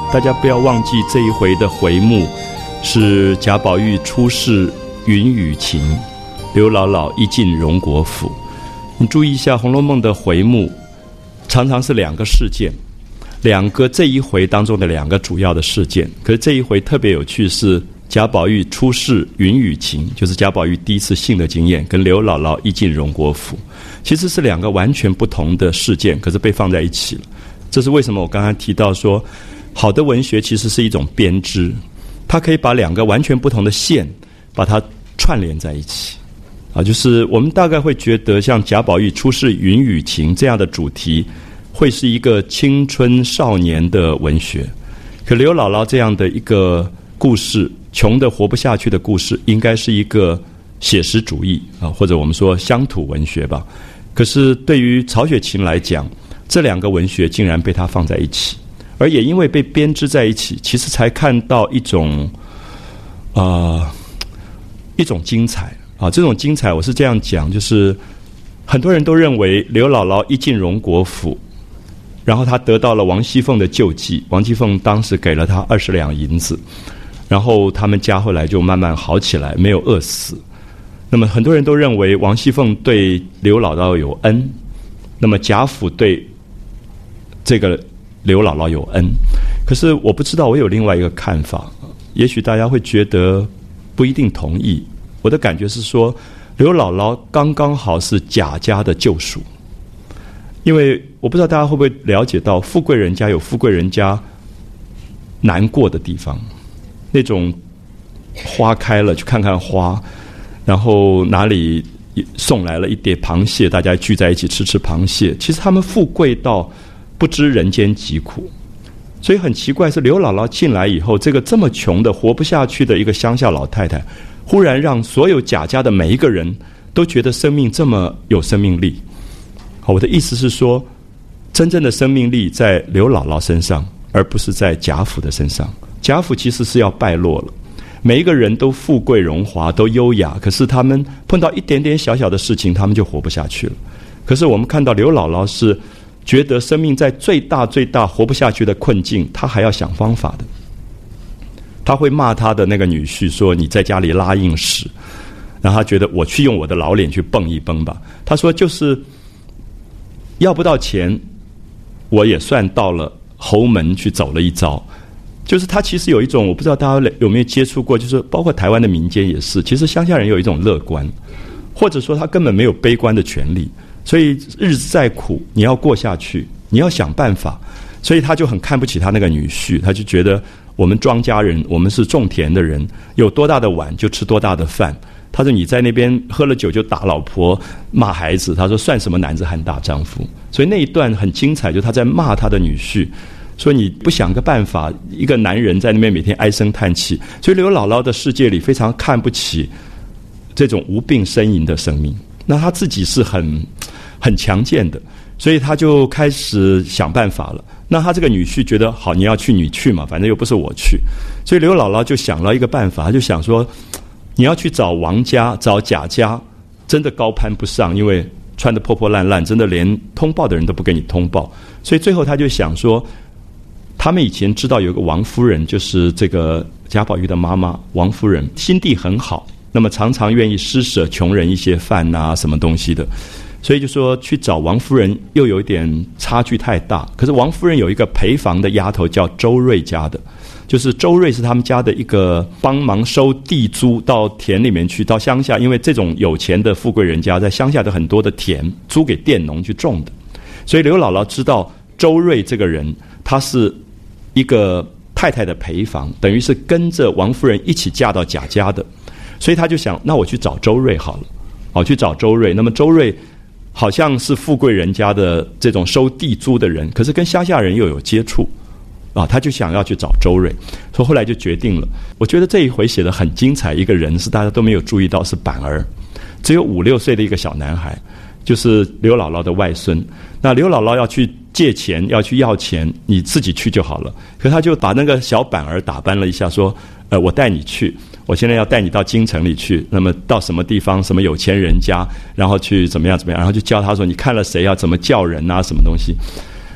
大家不要忘记这一回的回目是贾宝玉出仕云雨情，刘姥姥一进荣国府。你注意一下《红楼梦》的回目常常是两个事件，这一回当中的两个主要的事件。可是这一回特别有趣，是贾宝玉出仕云雨情，就是贾宝玉第一次性的经验，跟刘姥姥一进荣国府，其实是两个完全不同的事件，可是被放在一起了。这是为什么我刚才提到说，好的文学其实是一种编织，它可以把两个完全不同的线把它串联在一起啊。就是我们大概会觉得像贾宝玉出仕云雨情这样的主题会是一个青春少年的文学，可刘姥姥这样的一个故事，穷得活不下去的故事，应该是一个写实主义啊，或者我们说乡土文学吧。可是对于曹雪芹来讲，这两个文学竟然被他放在一起，而也因为被编织在一起，其实才看到一种精彩啊。这种精彩我是这样讲，就是很多人都认为刘姥姥一进荣国府，然后她得到了王熙凤的救济，王熙凤当时给了她20两银子，然后他们家后来就慢慢好起来，没有饿死。那么很多人都认为王熙凤对刘姥姥有恩，那么贾府对这个刘姥姥有恩。可是我不知道，我有另外一个看法，也许大家会觉得不一定同意。我的感觉是说，刘姥姥刚刚好是贾家的救赎。因为我不知道大家会不会了解到，富贵人家有富贵人家难过的地方，那种花开了去看看花，然后哪里送来了一碟螃蟹，大家聚在一起吃螃蟹，其实他们富贵到不知人间疾苦。所以很奇怪是刘姥姥进来以后，这么穷的活不下去的一个乡下老太太，忽然让所有贾家的每一个人都觉得生命这么有生命力。好，我的意思是说，真正的生命力在刘姥姥身上，而不是在贾府的身上。贾府其实是要败落了，每一个人都富贵荣华，都优雅，可是他们碰到一点点小小的事情，他们就活不下去了。可是我们看到刘姥姥是觉得生命在最大活不下去的困境，她还要想方法的。她会骂她的那个女婿说，你在家里拉硬屎，然后她觉得我去用我的老脸去蹦一蹦吧。她说就是要不到钱，我也算到了侯门去走了一遭。就是他其实有一种，我不知道大家有没有接触过，就是包括台湾的民间也是，其实乡下人有一种乐观，或者说他根本没有悲观的权利，所以日子再苦你要过下去，你要想办法。所以他就很看不起他那个女婿，他就觉得我们庄稼人，我们是种田的人，有多大的碗就吃多大的饭。他说你在那边喝了酒就打老婆骂孩子，他说算什么男子汉大丈夫。所以那一段很精彩，就他在骂他的女婿，说你不想个办法，一个男人在那边每天唉声叹气。所以刘姥姥的世界里非常看不起这种无病呻吟的生命，那他自己是很强健的，所以他就开始想办法了。那他这个女婿觉得好，你要去你去嘛，反正又不是我去。所以刘姥姥就想了一个办法，他就想说你要去找王家找贾家，真的高攀不上，因为穿得破破烂烂，真的连通报的人都不给你通报。所以最后他就想说，他们以前知道有个王夫人，就是这个贾宝玉的妈妈王夫人，心地很好，那么常常愿意施舍穷人一些饭啊什么东西的。所以就说去找王夫人又有一点差距太大。可是王夫人有一个陪房的丫头叫周瑞家的，就是周瑞是他们家的一个帮忙收地租，到田里面去，到乡下，因为这种有钱的富贵人家在乡下的很多的田租给佃农去种的。所以刘姥姥知道周瑞这个人，他是一个太太的陪房，等于是跟着王夫人一起嫁到贾家的。所以他就想，那我去找周瑞好了，去找周瑞。那么周瑞好像是富贵人家的这种收地租的人，可是跟乡下人又有接触他就想要去找周瑞。所以后来就决定了。我觉得这一回写得很精彩，一个人是大家都没有注意到，是板儿，只有5、6岁的一个小男孩，就是刘姥姥的外孙。那刘姥姥要去借钱，要去要钱，你自己去就好了。可他就把那个小板儿打扮了一下，说我带你去，我现在要带你到京城里去，那么到什么地方，什么有钱人家，然后去怎么样，然后就教他说你看了谁要怎么叫人啊，什么东西。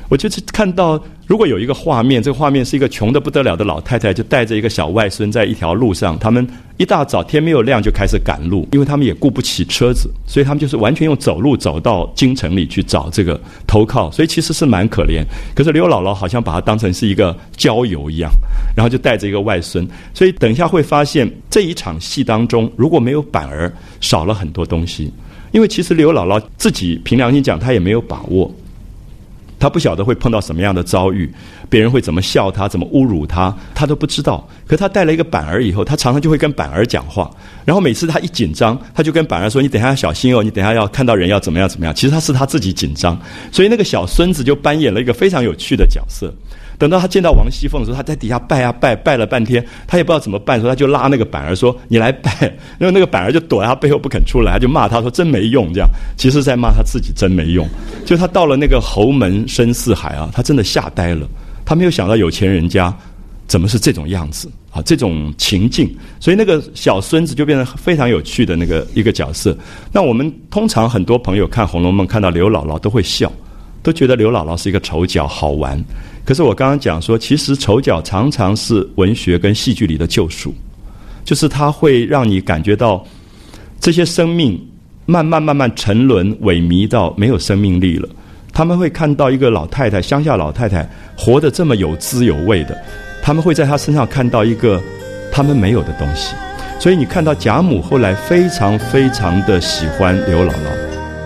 我就是看到，如果有一个画面，这个画面是一个穷得不得了的老太太，就带着一个小外孙在一条路上，他们一大早天没有亮就开始赶路，因为他们也顾不起车子，所以他们就是完全用走路走到京城里去找这个投靠，所以其实是蛮可怜。可是刘姥姥好像把它当成是一个郊游一样，然后就带着一个外孙，所以等一下会发现这一场戏当中，如果没有板儿，少了很多东西。因为其实刘姥姥自己凭良心讲，她也没有把握。他不晓得会碰到什么样的遭遇，别人会怎么笑他，怎么侮辱他，他都不知道。可他带了一个板儿以后，他常常就会跟板儿讲话，然后每次他一紧张，他就跟板儿说：“你等一下要小心哦，你等一下要看到人要怎么样怎么样。”其实他自己紧张，所以那个小孙子就扮演了一个非常有趣的角色。等到他见到王熙凤的时候，他在底下拜啊拜，拜了半天，他也不知道怎么办，说他就拉那个板儿说：“你来拜。”然后那个板儿就躲在他背后不肯出来，他就骂他说：“真没用。”这样其实在骂他自己真没用。就他到了那个侯门深似海啊，他真的吓呆了，他没有想到有钱人家怎么是这种样子啊，这种情境。所以那个小孙子就变成非常有趣的那个一个角色。那我们通常很多朋友看《红楼梦》看到刘姥姥都会笑，都觉得刘姥姥是一个丑角好玩。可是我刚刚讲说，其实丑角常常是文学跟戏剧里的救赎，就是它会让你感觉到这些生命慢慢沉沦萎靡到没有生命力了。他们会看到一个老太太，乡下老太太活得这么有滋有味的，他们会在她身上看到一个他们没有的东西。所以你看到贾母后来非常非常的喜欢刘姥姥。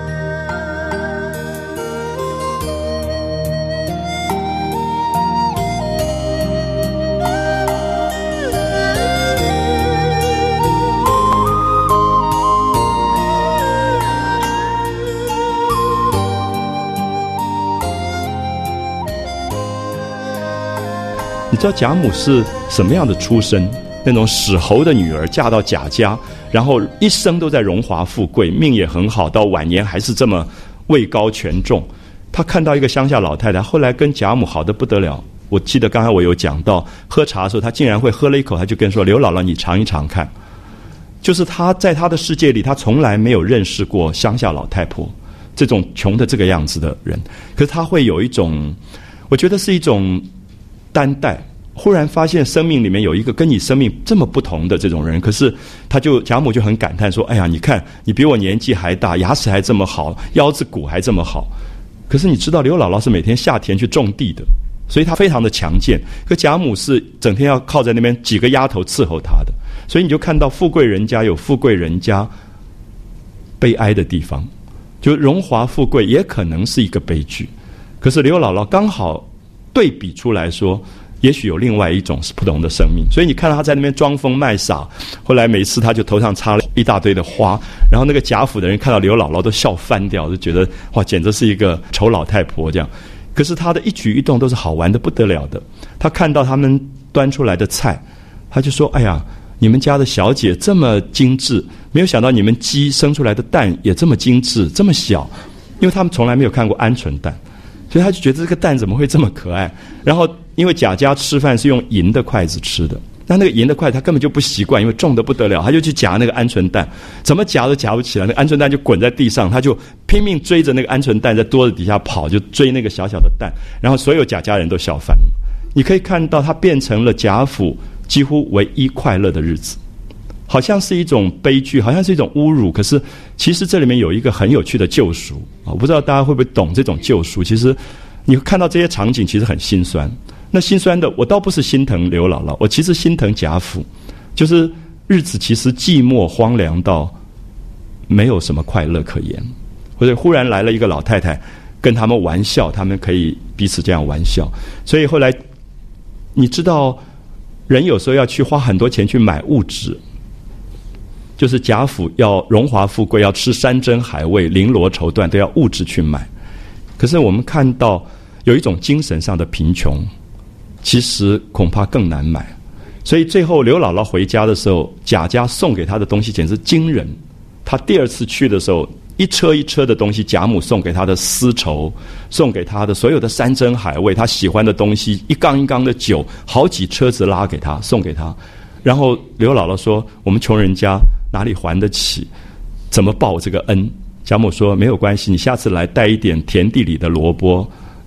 你知道贾母是什么样的出身？那种史侯的女儿嫁到贾家，然后一生都在荣华富贵，命也很好，到晚年还是这么位高权重。她看到一个乡下老太太，后来跟贾母好得不得了。我记得刚才我有讲到，喝茶的时候，她竟然会喝了一口，她就跟说：“刘姥姥，你尝一尝看。”就是她在她的世界里，她从来没有认识过乡下老太婆这种穷的这个样子的人。可是她会有一种，我觉得是一种担待，忽然发现生命里面有一个跟你生命这么不同的这种人。可是贾母就很感叹说：“哎呀，你看你比我年纪还大，牙齿还这么好，腰子骨还这么好。可是你知道刘姥姥是每天下田去种地的，所以她非常的强健。可贾母是整天要靠在那边几个丫头伺候她的，所以你就看到富贵人家有富贵人家悲哀的地方，就荣华富贵也可能是一个悲剧。可是刘姥姥刚好对比出来说，也许有另外一种是不同的生命。所以你看到他在那边装疯卖傻，后来每次他就头上插了一大堆的花，然后那个贾府的人看到刘姥姥都笑翻掉，就觉得哇，简直是一个丑老太婆这样。可是他的一举一动都是好玩的不得了的。他看到他们端出来的菜，他就说：“哎呀，你们家的小姐这么精致，没有想到你们鸡生出来的蛋也这么精致，这么小。”因为他们从来没有看过鹌鹑蛋，所以他就觉得这个蛋怎么会这么可爱。然后因为贾家吃饭是用银的筷子吃的，那个银的筷子他根本就不习惯，因为重得不得了，他就去夹那个鹌鹑蛋，怎么夹都夹不起来，那个鹌鹑蛋就滚在地上，他就拼命追着那个鹌鹑蛋在桌子底下跑，就追那个小小的蛋，然后所有贾家人都笑翻了。你可以看到他变成了贾府几乎唯一快乐的日子，好像是一种悲剧，好像是一种侮辱，可是其实这里面有一个很有趣的救赎。我不知道大家会不会懂这种救赎。其实你看到这些场景其实很心酸，那心酸的我倒不是心疼刘姥姥，我其实心疼贾府，就是日子其实寂寞荒凉到没有什么快乐可言，或者忽然来了一个老太太跟他们玩笑，他们可以彼此这样玩笑。所以后来你知道人有时候要去花很多钱去买物质，就是贾府要荣华富贵，要吃山珍海味，绫罗绸缎都要物质去买。可是我们看到有一种精神上的贫穷，其实恐怕更难买。所以最后刘姥姥回家的时候，贾家送给她的东西简直惊人。她第二次去的时候，一车一车的东西，贾母送给她的丝绸，送给她的所有的山珍海味，她喜欢的东西，一缸一缸的酒，好几车子拉给她，送给她。然后刘姥姥说：“我们穷人家哪里还得起？怎么报这个恩？”贾母说：“没有关系，你下次来带一点田地里的萝卜，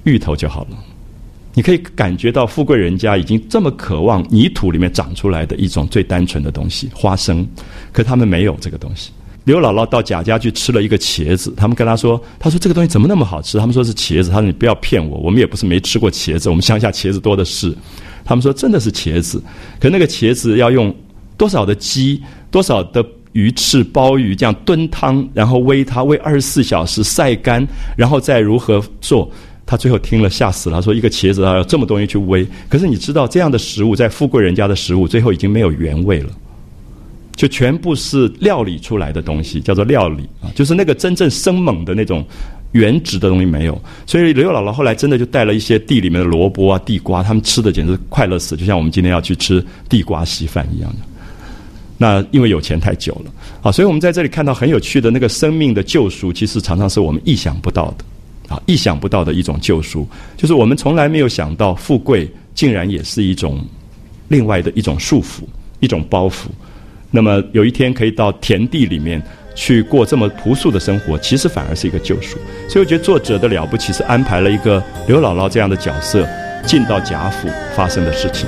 芋头就好了。你可以感觉到富贵人家已经这么渴望泥土里面长出来的一种最单纯的东西，花生，可他们没有这个东西。刘姥姥到贾家去吃了一个茄子，他们跟她说这个东西怎么那么好吃？他们说是茄子，他说你不要骗我，我们也不是没吃过茄子，我们乡下茄子多的是。他们说真的是茄子，可那个茄子要用多少的鸡，多少的鱼翅、鲍鱼这样炖汤，然后煨它，煨24小时晒干，然后再如何做。他最后听了吓死了，他说一个茄子要这么东西去煨。可是你知道这样的食物，在富贵人家的食物最后已经没有原味了，就全部是料理出来的东西，叫做料理啊，就是那个真正生猛的那种原质的东西没有。所以刘姥姥后来真的就带了一些地里面的萝卜啊、地瓜，他们吃的简直快乐死，就像我们今天要去吃地瓜稀饭一样的。那因为有钱太久了啊，所以我们在这里看到很有趣的那个生命的救赎，其实常常是我们意想不到的。意想不到的一种救赎，就是我们从来没有想到富贵竟然也是一种另外的一种束缚，一种包袱。那么有一天可以到田地里面去过这么朴素的生活，其实反而是一个救赎。所以我觉得作者的了不起是安排了一个刘姥姥这样的角色进到贾府发生的事情。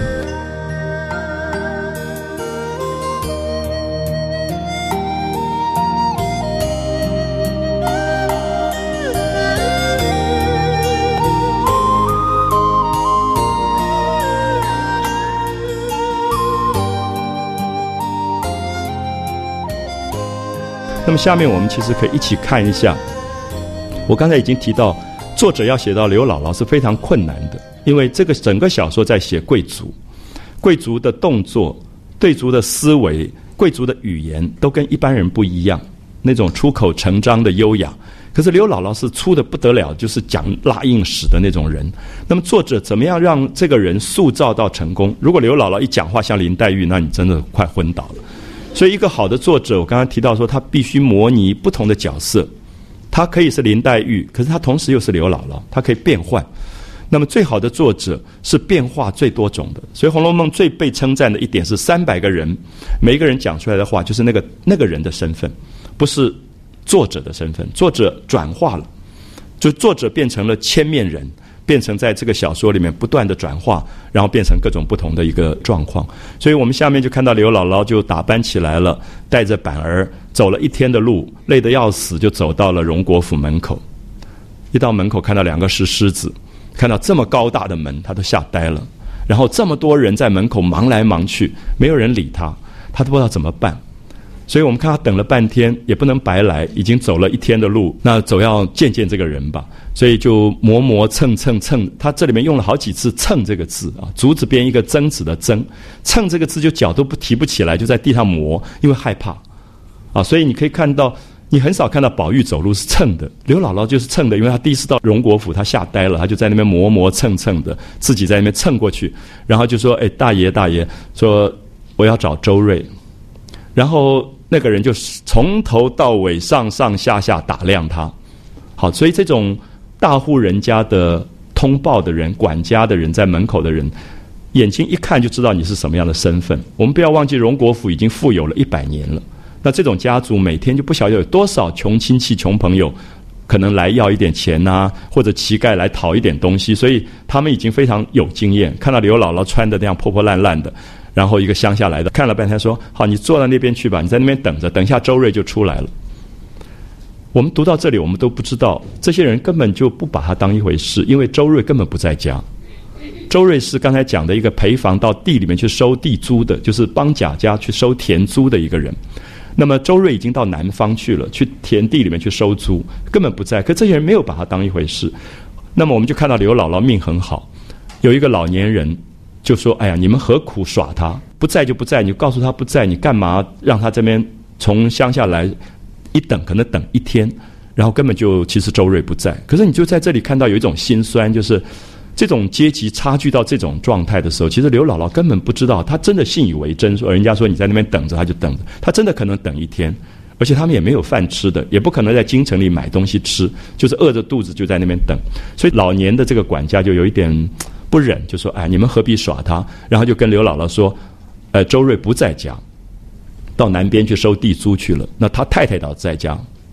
那么下面我们其实可以一起看一下，我刚才已经提到，作者要写到刘姥姥是非常困难的，因为这个整个小说在写贵族，贵族的动作、贵族的思维、贵族的语言都跟一般人不一样，那种出口成章的优雅。可是刘姥姥是粗的不得了，就是讲拉硬史的那种人。那么作者怎么样让这个人塑造到成功？如果刘姥姥一讲话像林黛玉，那你真的快昏倒了。所以一个好的作者，我刚刚提到说他必须模拟不同的角色，他可以是林黛玉，可是他同时又是刘姥姥，他可以变换。那么最好的作者是变化最多种的，所以《红楼梦》最被称赞的一点是300个人，每一个人讲出来的话就是那个人的身份，不是作者的身份，作者转化了，就作者变成了千面人，变成在这个小说里面不断的转化，然后变成各种不同的一个状况。所以我们下面就看到刘姥姥就打扮起来了，带着板儿走了1天的路，累得要死，就走到了荣国府门口。一到门口看到2个石狮子，看到这么高大的门，他都吓呆了。然后这么多人在门口忙来忙去，没有人理他，他都不知道怎么办。所以我们看他等了半天，也不能白来，已经走了1天的路，那总要见见这个人吧。所以就磨磨蹭蹭蹭，他这里面用了好几次蹭这个字啊，竹子边一个曾子的曾，蹭这个字就脚都提不起来，就在地上磨，因为害怕啊。所以你可以看到，你很少看到宝玉走路是蹭的，刘姥姥就是蹭的，因为她第一次到荣国府，她吓呆了，她就在那边磨磨蹭蹭的，自己在那边蹭过去，然后就说：“哎，大爷，说我要找周瑞。”然后那个人就从头到尾上上下下打量他。好，所以这种大户人家的通报的人、管家的人、在门口的人，眼睛一看就知道你是什么样的身份。我们不要忘记，荣国府已经富有了100年了。那这种家族每天就不晓得有多少穷亲戚、穷朋友，可能来要一点钱啊，或者乞丐来讨一点东西，所以他们已经非常有经验。看到刘姥姥穿的那样破破烂烂的，然后一个乡下来的，看了半天说：“好，你坐到那边去吧，你在那边等着，等一下周瑞就出来了。”我们读到这里，我们都不知道，这些人根本就不把他当一回事，因为周瑞根本不在家。周瑞是刚才讲的一个陪房到地里面去收地租的，就是帮贾家去收田租的一个人。那么周瑞已经到南方去了，去田地里面去收租，根本不在。可这些人没有把他当一回事。那么我们就看到刘姥姥命很好，有一个老年人就说：“哎呀，你们何苦耍他？不在就不在，你告诉他不在，你干嘛让他这边从乡下来？一等可能等1天，然后根本就其实周瑞不在。可是你就在这里看到有一种心酸，就是这种阶级差距到这种状态的时候，其实刘姥姥根本不知道，她真的信以为真，说人家说你在那边等着，她就等着，她真的可能等1天，而且他们也没有饭吃的，也不可能在京城里买东西吃，就是饿着肚子就在那边等。所以老年的这个管家就有一点不忍，就说：“哎，你们何必耍他？”然后就跟刘姥姥说：“周瑞不在家，到南边去收地租去了。那他太太倒在家。”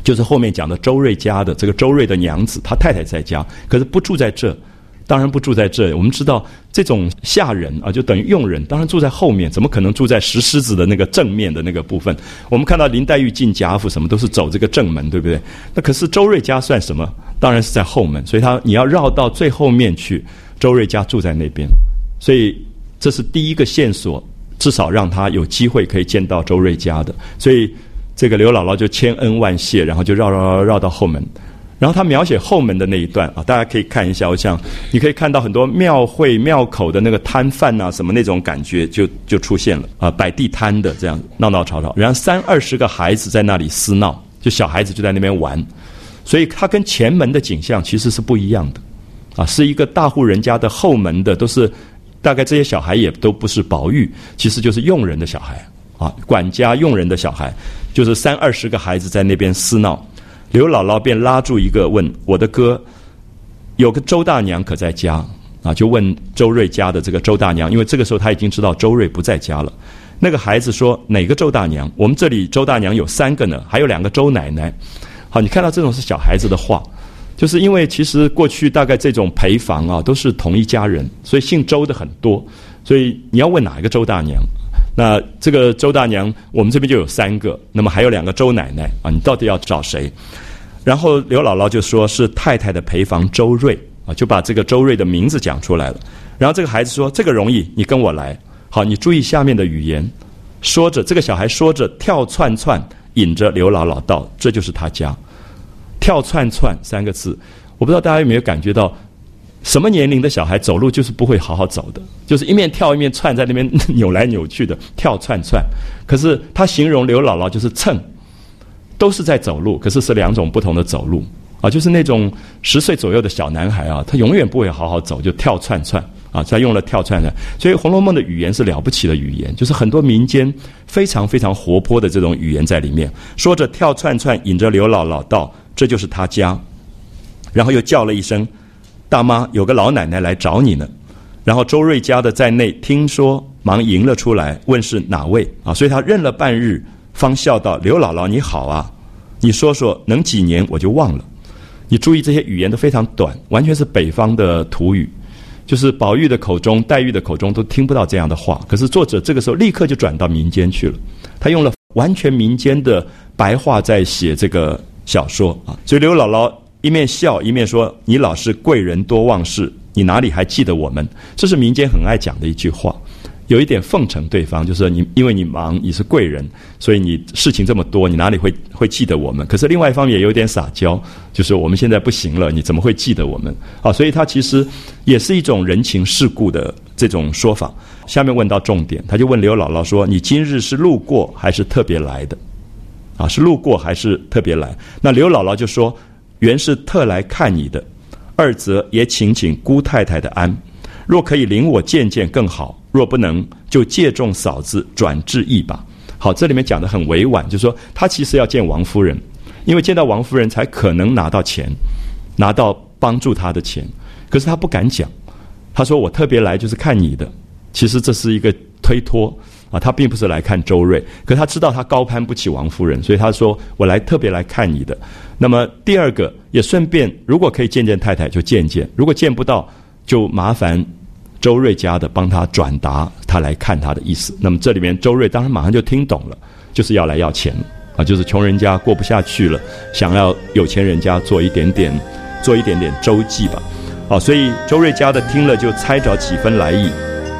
就是后面讲的周瑞家的这个周瑞的娘子，他太太在家，可是不住在这。当然不住在这，我们知道这种下人啊，就等于佣人，当然住在后面，怎么可能住在石狮子的那个正面的那个部分？我们看到林黛玉进贾府什么都是走这个正门，对不对？那可是周瑞家算什么？当然是在后门，所以你要绕到最后面去，周瑞家住在那边，所以这是第一个线索，至少让他有机会可以见到周瑞家的。所以这个刘姥姥就千恩万谢，然后就绕到后门。然后他描写后门的那一段啊，大家可以看一下，我想你可以看到很多庙会庙口的那个摊贩啊，什么那种感觉就出现了啊，摆地摊的这样闹闹吵吵，然后30-20个孩子在那里厮闹，就小孩子就在那边玩，所以它跟前门的景象其实是不一样的啊，是一个大户人家的后门的，都是大概这些小孩也都不是宝玉，其实就是佣人的小孩啊，管家佣人的小孩，就是30-20个孩子在那边厮闹。刘姥姥便拉住一个问：“我的哥，有个周大娘可在家？”啊，就问周瑞家的这个周大娘，因为这个时候他已经知道周瑞不在家了。那个孩子说：“哪个周大娘？我们这里周大娘有3个呢，还有2个周奶奶。”好，你看到这种是小孩子的话，就是因为其实过去大概这种陪房啊都是同一家人，所以姓周的很多，所以你要问哪一个周大娘？那这个周大娘我们这边就有3个，那么还有2个周奶奶啊，你到底要找谁？然后刘姥姥就说是太太的陪房周瑞啊，就把这个周瑞的名字讲出来了。然后这个孩子说：“这个容易，你跟我来。”好，你注意下面的语言，说着这个小孩说着跳窜窜，引着刘姥姥到，这就是他家。跳窜窜3个字，我不知道大家有没有感觉到，什么年龄的小孩走路就是不会好好走的，就是一面跳一面窜，在那边扭来扭去的跳窜窜。可是他形容刘姥姥就是蹭，都是在走路，可是是2种不同的走路啊，就是那种10岁左右的小男孩啊，他永远不会好好走，就跳窜窜啊，他用了跳窜窜。所以《红楼梦》的语言是了不起的语言，就是很多民间非常非常活泼的这种语言在里面。说着跳窜窜，引着刘姥姥到，这就是他家。然后又叫了一声：“大妈，有个老奶奶来找你呢。”然后周瑞家的在内听说，忙迎了出来，问是哪位啊？所以他认了半日，方笑道：“刘姥姥你好啊，你说说能几年我就忘了。”你注意这些语言都非常短，完全是北方的土语，就是宝玉的口中、黛玉的口中都听不到这样的话。可是作者这个时候立刻就转到民间去了，他用了完全民间的白话在写这个小说啊。所以刘姥姥一面笑一面说：“你老是贵人多忘事，你哪里还记得我们？”这是民间很爱讲的一句话，有一点奉承对方，就是你因为你忙，你是贵人，所以你事情这么多，你哪里会记得我们？可是另外一方面也有点撒娇，就是我们现在不行了，你怎么会记得我们？啊，所以它其实也是一种人情世故的这种说法。下面问到重点，他就问刘姥姥说：“你今日是路过还是特别来的？”啊，是路过还是特别来？那刘姥姥就说：“原是特来看你的，二则也请姑太太的安。若可以领我见见更好，若不能，就借重嫂子转致意吧。”好，这里面讲得很委婉，就是说他其实要见王夫人，因为见到王夫人才可能拿到钱，拿到帮助他的钱。可是他不敢讲，他说：“我特别来就是看你的。”其实这是一个推脱啊，他并不是来看周瑞，可是他知道他高攀不起王夫人，所以他说：“我特别来看你的。”那么第二个也顺便，如果可以见见太太就见见，如果见不到，就麻烦周瑞家的帮他转达他来看他的意思。那么这里面周瑞当然马上就听懂了，就是要来要钱啊，就是穷人家过不下去了，想要有钱人家做一点点周济吧。好，所以周瑞家的听了就猜着几分来意。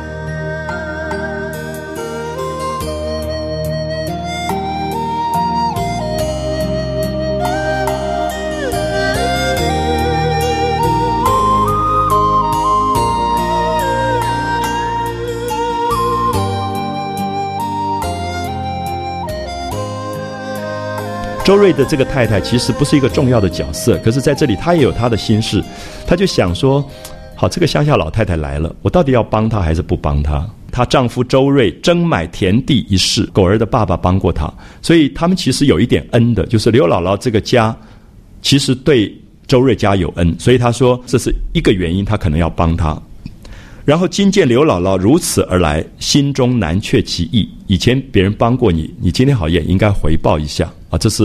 周瑞的这个太太其实不是一个重要的角色，可是在这里她也有她的心事，她就想说：好，这个乡下老太太来了，我到底要帮她还是不帮她？她丈夫周瑞争买田地一事，狗儿的爸爸帮过她，所以他们其实有一点恩的，就是刘姥姥这个家其实对周瑞家有恩，所以她说这是一个原因，她可能要帮她。然后今见刘姥姥如此而来，心中难却其意。以前别人帮过你，你今天好也应该回报一下啊！这是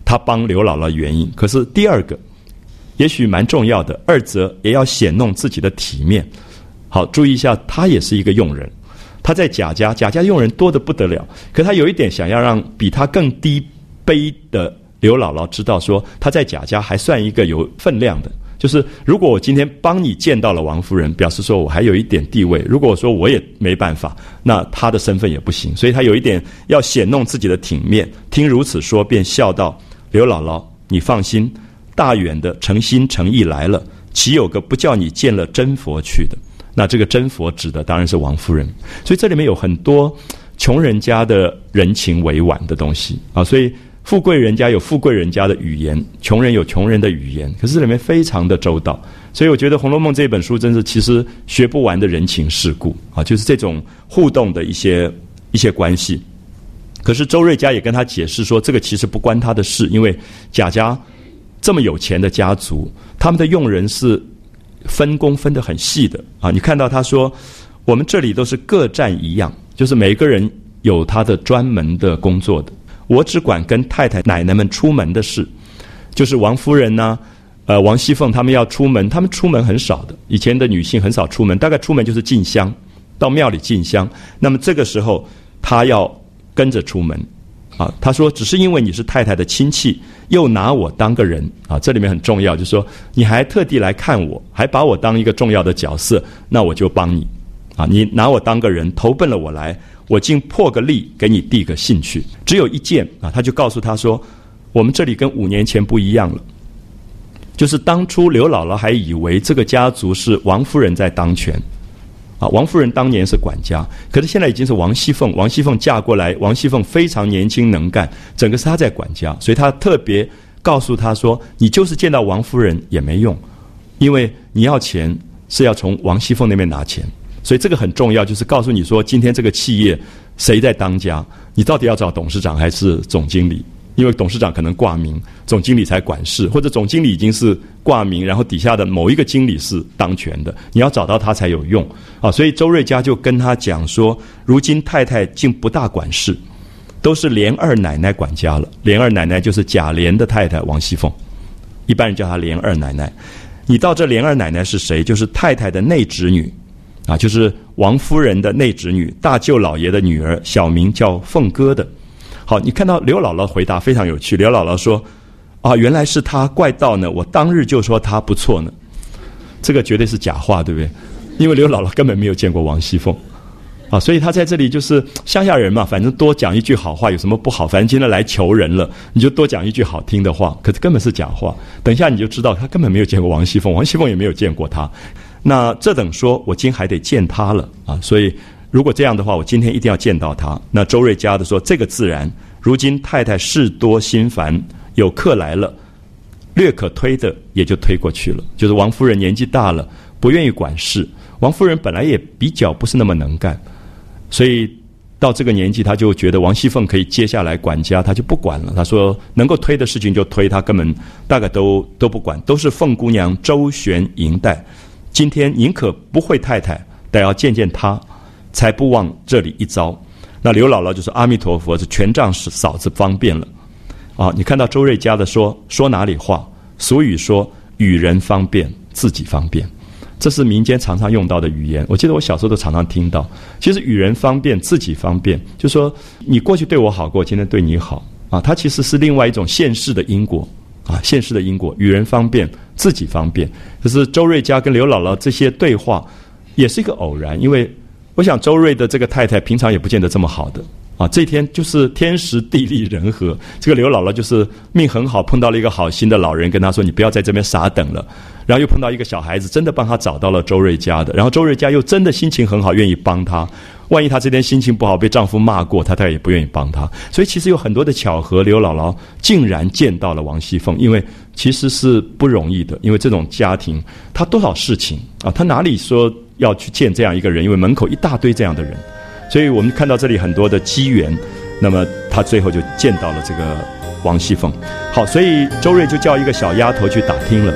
他帮刘姥姥原因。可是第二个也许蛮重要的，二则也要显弄自己的体面。好，注意一下，他也是一个佣人，他在贾家，贾家佣人多得不得了，可他有一点想要让比他更低卑的刘姥姥知道说，他在贾家还算一个有分量的，就是如果我今天帮你见到了王夫人，表示说我还有一点地位，如果说我也没办法，那他的身份也不行，所以他有一点要显弄自己的体面。听如此说，便笑道：刘姥姥，你放心，大远的诚心诚意来了，岂有个不叫你见了真佛去的？那这个真佛指的当然是王夫人。所以这里面有很多穷人家的人情委婉的东西啊，所以富贵人家有富贵人家的语言，穷人有穷人的语言，可是这里面非常的周到。所以我觉得《红楼梦》这本书真是其实学不完的人情世故啊，就是这种互动的一些关系。可是周瑞家也跟他解释说，这个其实不关他的事，因为贾家这么有钱的家族，他们的佣人是分工分得很细的啊。你看到他说，我们这里都是各占一样，就是每个人有他的专门的工作的。我只管跟太太奶奶们出门的事，就是王夫人呢、王熙凤他们要出门，他们出门很少的，以前的女性很少出门，大概出门就是进香，到庙里进香。那么这个时候她要跟着出门啊。她说只是因为你是太太的亲戚，又拿我当个人啊，这里面很重要，就是说你还特地来看我，还把我当一个重要的角色，那我就帮你啊。你拿我当个人，投奔了我来，我竟破个例给你递个信去。只有一件啊，他就告诉他说，我们这里跟5年前不一样了，就是当初刘姥姥还以为这个家族是王夫人在当权啊，王夫人当年是管家，可是现在已经是王熙凤，王熙凤嫁过来，王熙凤非常年轻能干，整个是她在管家，所以她特别告诉他说，你就是见到王夫人也没用，因为你要钱是要从王熙凤那边拿钱。所以这个很重要，就是告诉你说，今天这个企业谁在当家，你到底要找董事长还是总经理？因为董事长可能挂名，总经理才管事，或者总经理已经是挂名，然后底下的某一个经理是当权的，你要找到他才有用啊。所以周瑞家就跟他讲说，如今太太竟不大管事，都是琏二奶奶管家了。琏二奶奶就是贾琏的太太王熙凤，一般人叫她琏二奶奶。你到这琏二奶奶是谁？就是太太的内侄女啊，就是王夫人的内侄女，大舅老爷的女儿，小名叫凤哥的。好，你看到刘姥姥回答非常有趣。刘姥姥说：“啊，原来是她，怪道呢！我当日就说她不错呢。”这个绝对是假话，对不对？因为刘姥姥根本没有见过王熙凤啊，所以她在这里就是乡下人嘛，反正多讲一句好话有什么不好？反正今天来求人了，你就多讲一句好听的话。可是根本是假话。等一下你就知道，她根本没有见过王熙凤，王熙凤也没有见过她。那这等说，我今还得见她了啊！所以如果这样的话，我今天一定要见到她。那周瑞家的说，这个自然。如今太太事多心烦，有客来了，略可推的也就推过去了。就是王夫人年纪大了，不愿意管事。王夫人本来也比较不是那么能干，所以到这个年纪，她就觉得王熙凤可以接下来管家，她就不管了。她说能够推的事情就推，她根本大概都不管，都是凤姑娘周旋迎待。今天宁可不会太太，但要见见她，才不忘这里一遭。那刘姥姥就说：“阿弥陀佛，这全仗是嫂子方便了。”啊，你看到周瑞家的说哪里话？俗语说：“与人方便，自己方便。”这是民间常常用到的语言。我记得我小时候都常常听到。其实与人方便，自己方便，就说你过去对我好过，今天对你好啊，它其实是另外一种现世的因果啊，现世的因果。与人方便，自己方便。可是周瑞家跟刘姥姥这些对话，也是一个偶然，因为我想周瑞的这个太太平常也不见得这么好的啊，这天就是天时地利人和，这个刘姥姥就是命很好，碰到了一个好心的老人，跟她说你不要在这边傻等了，然后又碰到一个小孩子，真的帮她找到了周瑞家的，然后周瑞家又真的心情很好，愿意帮她，万一她这天心情不好被丈夫骂过，她也不愿意帮她，所以其实有很多的巧合，刘姥姥竟然见到了王熙凤，因为其实是不容易的，因为这种家庭她多少事情啊，她哪里说要去见这样一个人，因为门口一大堆这样的人，所以我们看到这里很多的机缘，那么他最后就见到了这个王熙凤。好，所以周瑞就叫一个小丫头去打听了。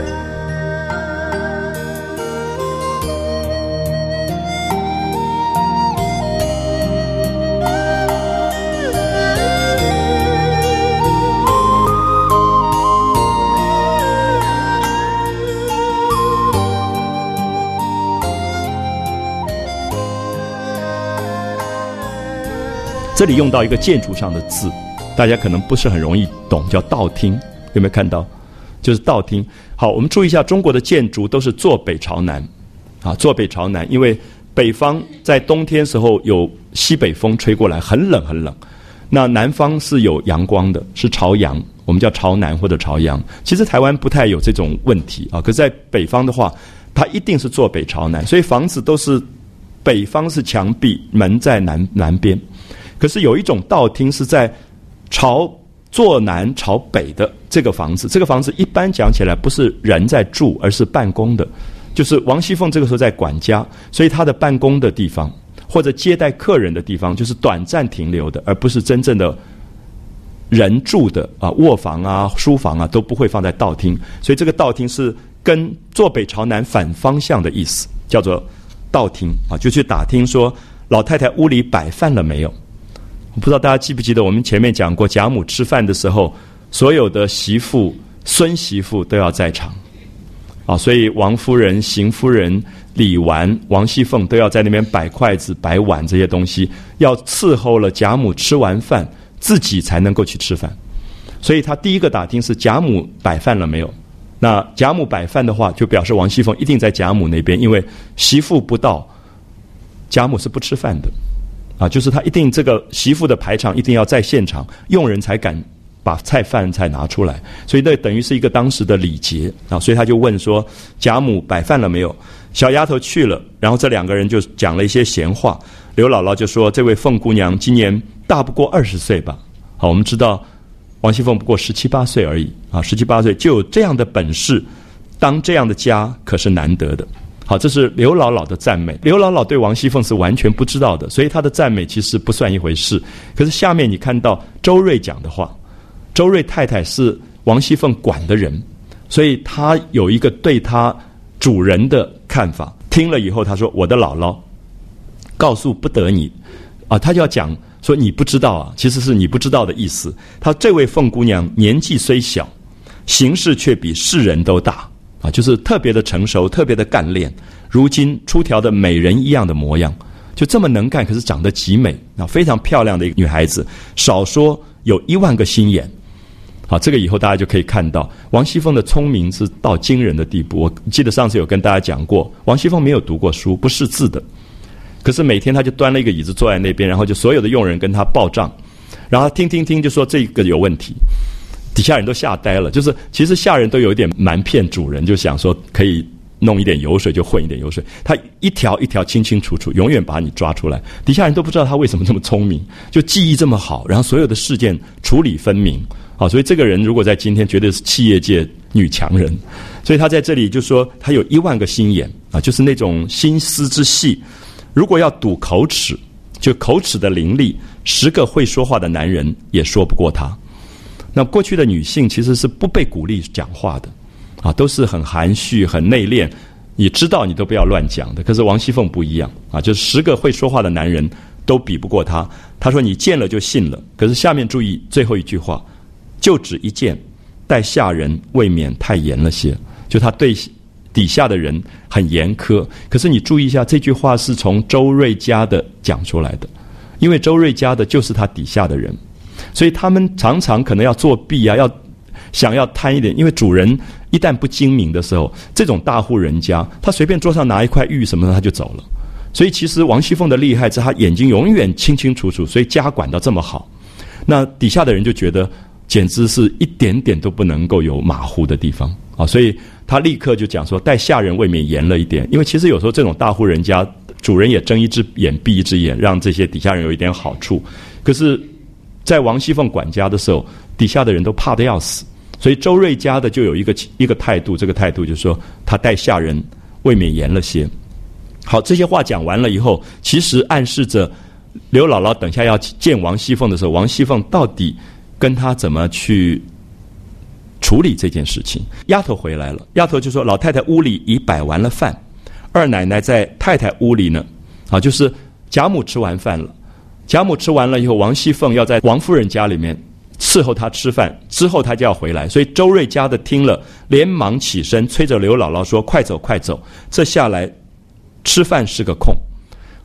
这里用到一个建筑上的字，大家可能不是很容易懂，叫道厅，有没有看到？就是道厅。好，我们注意一下，中国的建筑都是坐北朝南，坐北朝南，因为北方在冬天时候有西北风吹过来，很冷很冷。那南方是有阳光的，是朝阳，我们叫朝南或者朝阳。其实台湾不太有这种问题可是在北方的话，它一定是坐北朝南，所以房子都是北方是墙壁，门在南边。可是有一种道厅是在坐南朝北的这个房子，这个房子一般讲起来不是人在住，而是办公的。就是王熙凤这个时候在管家，所以她的办公的地方或者接待客人的地方，就是短暂停留的，而不是真正的人住的卧房书房都不会放在道厅。所以这个道厅是跟坐北朝南反方向的意思，叫做道厅就去打听说老太太屋里摆饭了没有。我不知道大家记不记得，我们前面讲过，贾母吃饭的时候，所有的媳妇、孙媳妇都要在场所以王夫人、邢夫人、李纨、王熙凤都要在那边摆筷子、摆碗这些东西，要伺候了贾母吃完饭，自己才能够去吃饭。所以他第一个打听是贾母摆饭了没有。那贾母摆饭的话，就表示王熙凤一定在贾母那边，因为媳妇不到，贾母是不吃饭的就是他一定这个媳妇的排场一定要在现场，佣人才敢把饭菜拿出来，所以那等于是一个当时的礼节所以他就问说贾母摆饭了没有。小丫头去了，然后这两个人就讲了一些闲话。刘姥姥就说这位凤姑娘今年大不过20岁吧。好，我们知道王熙凤不过17、18岁而已17、18岁就有这样的本事，当这样的家可是难得的。好，这是刘姥姥的赞美。刘姥姥对王熙凤是完全不知道的，所以她的赞美其实不算一回事。可是下面你看到周瑞讲的话，周瑞太太是王熙凤管的人，所以她有一个对她主人的看法。听了以后，她说我的姥姥告诉不得你她就要讲说你不知道其实是你不知道的意思。她这位凤姑娘年纪虽小，行事却比世人都大就是特别的成熟，特别的干练，如今出条的美人一样的模样，就这么能干，可是长得极美非常漂亮的一个女孩子，少说有10000个心眼。好，这个以后大家就可以看到王熙凤的聪明是到惊人的地步。我记得上次有跟大家讲过，王熙凤没有读过书，不识字的，可是每天她就端了一个椅子坐在那边，然后就所有的佣人跟她报账，然后听就说这个有问题，底下人都吓呆了。就是其实下人都有一点瞒骗主人，就想说可以弄一点油水就混一点油水，他一条一条清清楚楚，永远把你抓出来。底下人都不知道他为什么这么聪明，就记忆这么好，然后所有的事件处理分明所以这个人如果在今天绝对是企业界女强人。所以他在这里就说他有10000个心眼就是那种心思之细。如果要赌口齿，就口齿的伶俐，10个会说话的男人也说不过他。那过去的女性其实是不被鼓励讲话的都是很含蓄、很内敛，你知道你都不要乱讲的。可是王熙凤不一样就是10个会说话的男人都比不过他。他说你见了就信了，可是下面注意最后一句话，就只一见，待下人未免太严了些。就他对底下的人很严苛，可是你注意一下，这句话是从周瑞家的讲出来的，因为周瑞家的就是他底下的人，所以他们常常可能要作弊想要贪一点，因为主人一旦不精明的时候，这种大户人家他随便桌上拿一块玉什么的他就走了。所以其实王熙凤的厉害是他眼睛永远清清楚楚，所以家管到这么好，那底下的人就觉得简直是一点点都不能够有马虎的地方所以他立刻就讲说待下人未免严了一点。因为其实有时候这种大户人家主人也睁一只眼闭一只眼，让这些底下人有一点好处，可是在王熙凤管家的时候，底下的人都怕得要死。所以周瑞家的就有一个态度，这个态度就是说他待下人未免严了些。好，这些话讲完了以后，其实暗示着刘姥姥等下要见王熙凤的时候，王熙凤到底跟她怎么去处理这件事情。丫头回来了，丫头就说老太太屋里已摆完了饭，二奶奶在太太屋里呢就是贾母吃完饭了，贾母吃完了以后，王熙凤要在王夫人家里面伺候她吃饭，之后她就要回来。所以周瑞家的听了连忙起身催着刘姥姥说快走快走，这下来吃饭是个空。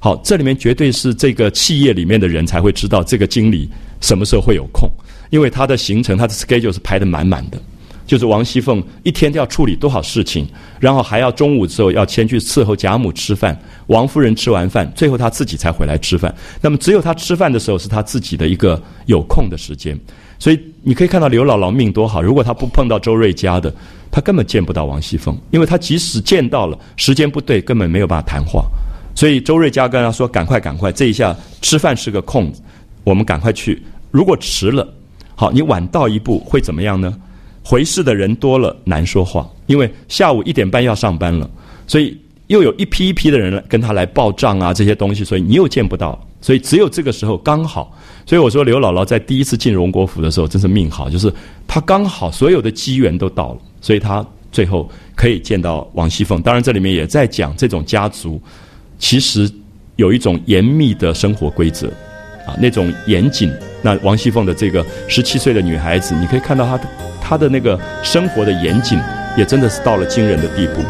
好，这里面绝对是这个企业里面的人才会知道这个经理什么时候会有空，因为他的行程他的 schedule 是排得满满的，就是王熙凤一天都要处理多少事情，然后还要中午之后要先去伺候贾母吃饭，王夫人吃完饭最后他自己才回来吃饭，那么只有他吃饭的时候是他自己的一个有空的时间。所以你可以看到刘姥姥命多好，如果她不碰到周瑞家的，她根本见不到王熙凤，因为她即使见到了时间不对根本没有办法谈话。所以周瑞家跟他说赶快这一下吃饭是个空子，我们赶快去，如果迟了，好，你晚到一步会怎么样呢？回事的人多了难说话，因为下午1点半要上班了，所以又有一批一批的人跟他来报账啊，这些东西，所以你又见不到，所以只有这个时候刚好。所以我说刘姥姥在第一次进荣国府的时候真是命好，就是她刚好所有的机缘都到了，所以她最后可以见到王熙凤。当然这里面也在讲这种家族其实有一种严密的生活规则啊，那种严谨。那王熙凤的这个17岁的女孩子，你可以看到她的那个生活的严谨也真的是到了惊人的地步。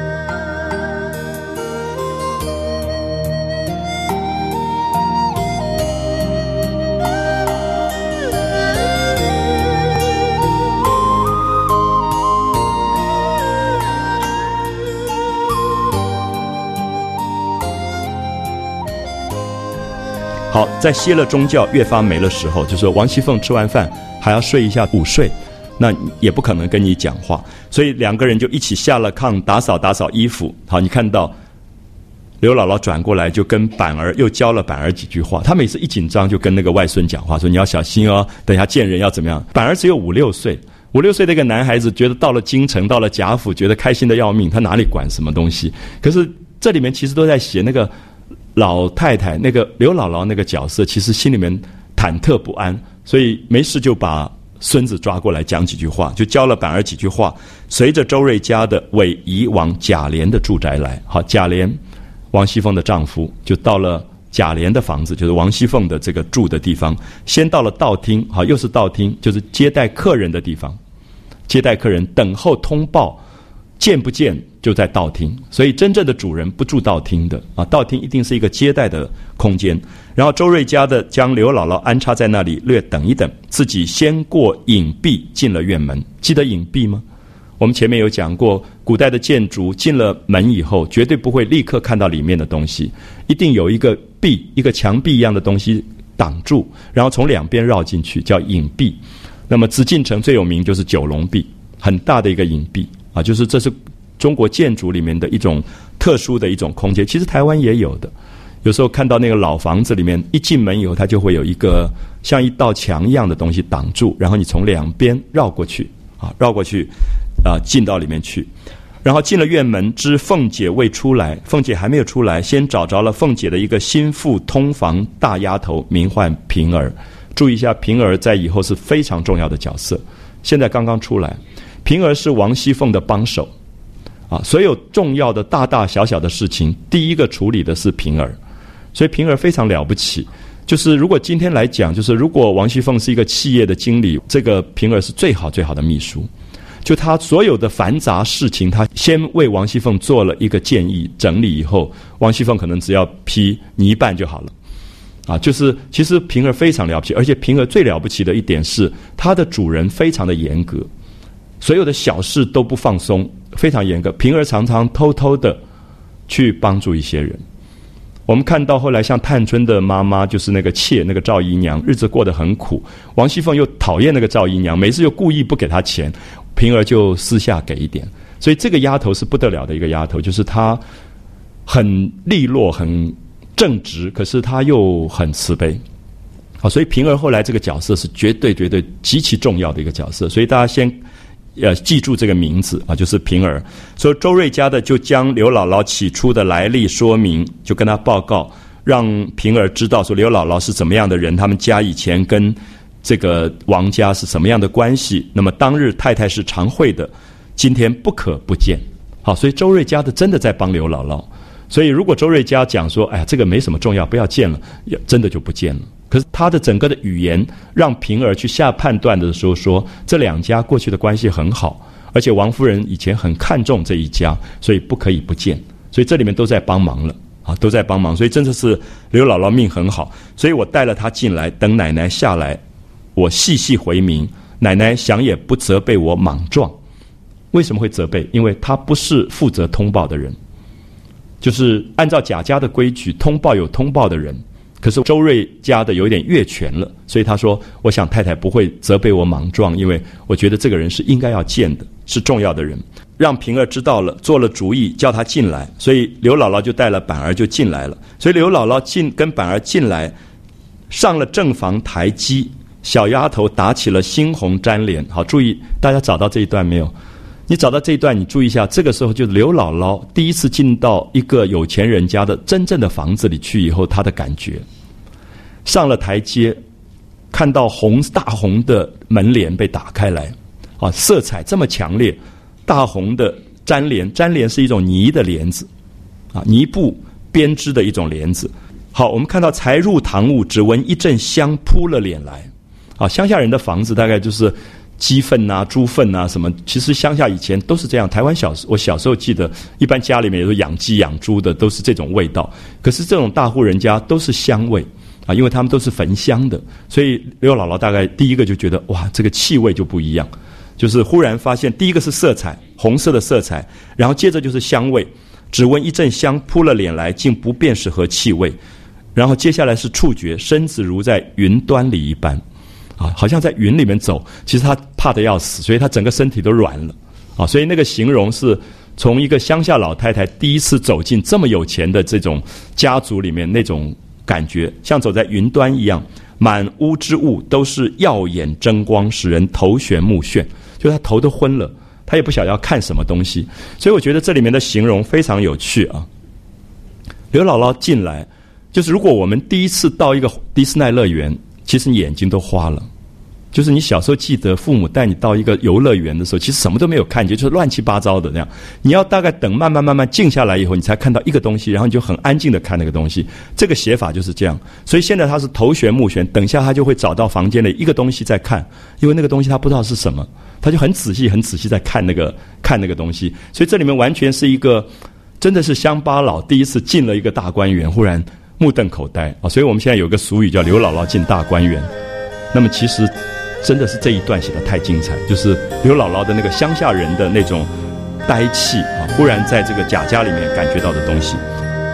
好，在歇了中觉越发没了时候，就是王熙凤吃完饭还要睡一下午睡，那也不可能跟你讲话，所以两个人就一起下了炕打扫衣服。好，你看到刘姥姥转过来就跟板儿又教了板儿几句话，她每次一紧张就跟那个外孙讲话，说你要小心哦，等一下见人要怎么样。板儿只有5、6岁，5、6岁的一个男孩子觉得到了京城到了贾府觉得开心的要命，他哪里管什么东西。可是这里面其实都在写那个老太太，那个刘姥姥那个角色其实心里面忐忑不安，所以没事就把孙子抓过来讲几句话，就教了板儿几句话，随着周瑞家的尾移往贾琏的住宅来。好，贾琏王熙凤的丈夫就到了贾琏的房子，就是王熙凤的这个住的地方，先到了道厅。好，又是道厅，就是接待客人的地方，接待客人等候通报，见不见就在道厅，所以真正的主人不住道厅的啊，道厅一定是一个接待的空间。然后周瑞家的将刘姥姥安插在那里，略等一等，自己先过隐蔽进了院门。记得隐蔽吗？我们前面有讲过，古代的建筑进了门以后绝对不会立刻看到里面的东西，一定有一个壁，一个墙壁一样的东西挡住，然后从两边绕进去，叫隐蔽。那么紫禁城最有名就是九龙壁，很大的一个隐蔽啊，就是这是中国建筑里面的一种特殊的一种空间，其实台湾也有的。有时候看到那个老房子里面，一进门以后它就会有一个像一道墙一样的东西挡住，然后你从两边绕过去进到里面去。然后进了院门，知凤姐未出来，凤姐还没有出来，先找着了凤姐的一个心腹通房大丫头，名唤平儿。注意一下，平儿在以后是非常重要的角色，现在刚刚出来。平儿是王熙凤的帮手啊，所有重要的大大小小的事情，第一个处理的是平儿，所以平儿非常了不起。就是如果今天来讲，就是如果王熙凤是一个企业的经理，这个平儿是最好最好的秘书。就他所有的繁杂事情，他先为王熙凤做了一个建议整理以后，王熙凤可能只要批你一半就好了啊。就是其实平儿非常了不起，而且平儿最了不起的一点是她的主人非常的严格，所有的小事都不放松，非常严格。平儿常常偷偷的去帮助一些人。我们看到后来像探春的妈妈，就是那个妾，那个赵姨娘，日子过得很苦，王熙凤又讨厌那个赵姨娘，每次又故意不给她钱，平儿就私下给一点。所以这个丫头是不得了的一个丫头，就是她很利落很正直，可是她又很慈悲。好，所以平儿后来这个角色是绝对极其重要的一个角色，所以大家先记住这个名字啊，就是平儿。所以周瑞家的就将刘姥姥起初的来历说明，就跟他报告，让平儿知道说刘姥姥是怎么样的人，他们家以前跟这个王家是什么样的关系。那么当日太太是常会的，今天不可不见。好，所以周瑞家的真的在帮刘姥姥。所以如果周瑞家讲说，哎呀，这个没什么重要，不要见了，真的就不见了。可是他的整个的语言让平儿去下判断的时候说，这两家过去的关系很好，而且王夫人以前很看重这一家，所以不可以不见。所以这里面都在帮忙了啊，都在帮忙，所以真的是刘姥姥命很好。所以我带了她进来，等奶奶下来，我细细回明，奶奶想也不责备我莽撞。为什么会责备？因为她不是负责通报的人，就是按照贾家的规矩，通报有通报的人。可是周瑞家的有一点越权了，所以他说我想太太不会责备我莽撞，因为我觉得这个人是应该要见的，是重要的人。让平儿知道了，做了主意叫他进来，所以刘姥姥就带了板儿就进来了。所以刘姥姥跟板儿进来，上了正房台基，小丫头打起了猩红粘连。好，注意大家找到这一段没有？你找到这一段，你注意一下，这个时候就是刘姥姥第一次进到一个有钱人家的真正的房子里去以后，她的感觉。上了台阶，看到大红的门帘被打开来，啊，色彩这么强烈，大红的粘连是一种泥的帘子，啊，泥布编织的一种帘子。好，我们看到才入堂屋，只闻一阵香扑了脸来。啊，乡下人的房子大概就是鸡粪啊、猪粪啊什么，其实乡下以前都是这样。台湾我小时候记得，一般家里面也是养鸡养猪的，都是这种味道。可是这种大户人家都是香味啊，因为他们都是焚香的，所以刘姥姥大概第一个就觉得哇，这个气味就不一样，就是忽然发现第一个是色彩，红色的色彩，然后接着就是香味，只闻一阵香扑了脸来，竟不辨是何气味。然后接下来是触觉，身子如在云端里一般。啊，好像在云里面走，其实他怕得要死，所以他整个身体都软了。啊，所以那个形容是从一个乡下老太太第一次走进这么有钱的这种家族里面，那种感觉像走在云端一样，满屋之物都是耀眼争光，使人头眩目眩，就他头都昏了，他也不晓得要看什么东西。所以我觉得这里面的形容非常有趣啊。刘姥姥进来，就是如果我们第一次到一个迪士尼乐园，其实你眼睛都花了。就是你小时候记得父母带你到一个游乐园的时候，其实什么都没有看见，就是乱七八糟的那样。你要大概等慢慢静下来以后，你才看到一个东西，然后你就很安静的看那个东西。这个写法就是这样。所以现在他是头眩目眩，等一下他就会找到房间里一个东西在看，因为那个东西他不知道是什么，他就很仔细在看那个东西。所以这里面完全是一个真的是乡巴佬第一次进了一个大观园，忽然目瞪口呆啊！所以我们现在有个俗语叫刘姥姥进大观园。那么其实真的是这一段写得太精彩，就是刘姥姥的那个乡下人的那种呆气啊，忽然在这个贾家里面感觉到的东西。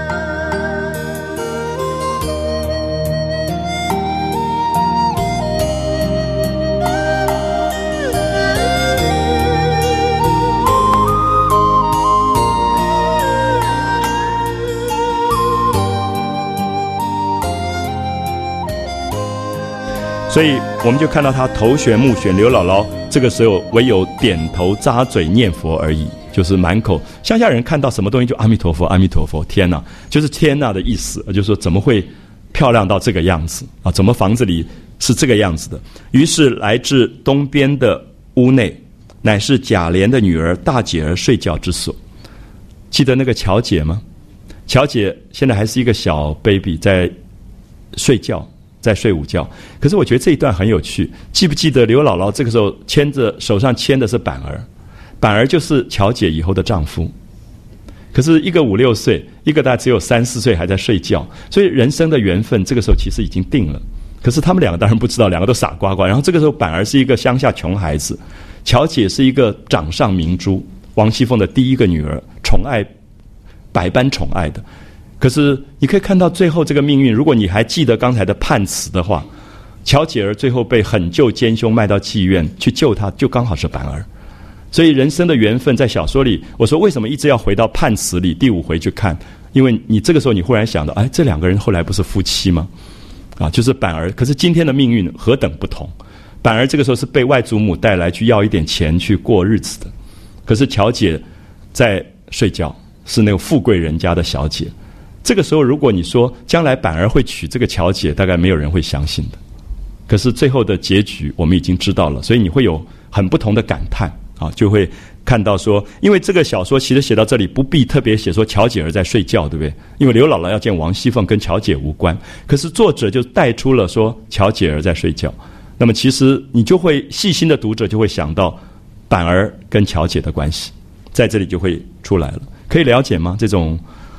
所以我们就看到他头眩目眩，刘姥姥这个时候唯有点头咂嘴念佛而已，就是满口。乡下人看到什么东西就阿弥陀佛，阿弥陀佛，天哪，就是天哪的意思，就是说怎么会漂亮到这个样子啊？怎么房子里是这个样子的？于是来至东边的屋内，乃是贾琏的女儿大姐儿睡觉之所。记得那个巧姐吗？巧姐现在还是一个小 baby 在睡觉。在睡午觉。可是我觉得这一段很有趣，记不记得刘姥姥这个时候手上牵的是板儿，板儿就是巧姐以后的丈夫。可是一个5、6岁，一个大概只有3、4岁还在睡觉，所以人生的缘分这个时候其实已经定了。可是他们两个当然不知道，两个都傻瓜瓜。然后这个时候板儿是一个乡下穷孩子，巧姐是一个掌上明珠，王熙凤的第一个女儿，宠爱百般宠爱的。可是你可以看到最后这个命运，如果你还记得刚才的判词的话，巧姐儿最后被狠救奸凶卖到妓院去救她，就刚好是板儿。所以人生的缘分在小说里，我说为什么一直要回到判词里第5回去看？因为你这个时候你忽然想到，哎，这两个人后来不是夫妻吗？啊，就是板儿。可是今天的命运何等不同，板儿这个时候是被外祖母带来去要一点钱去过日子的，可是巧姐在睡觉，是那个富贵人家的小姐。这个时候如果你说将来板儿会娶这个巧姐，大概没有人会相信的。可是最后的结局我们已经知道了，所以你会有很不同的感叹啊，就会看到说，因为这个小说其实写到这里不必特别写说巧姐儿在睡觉，对不对？因为刘姥姥要见王熙凤跟巧姐无关，可是作者就带出了说巧姐儿在睡觉。那么其实你就会细心的读者就会想到板儿跟巧姐的关系，在这里就会出来了。可以了解吗？这种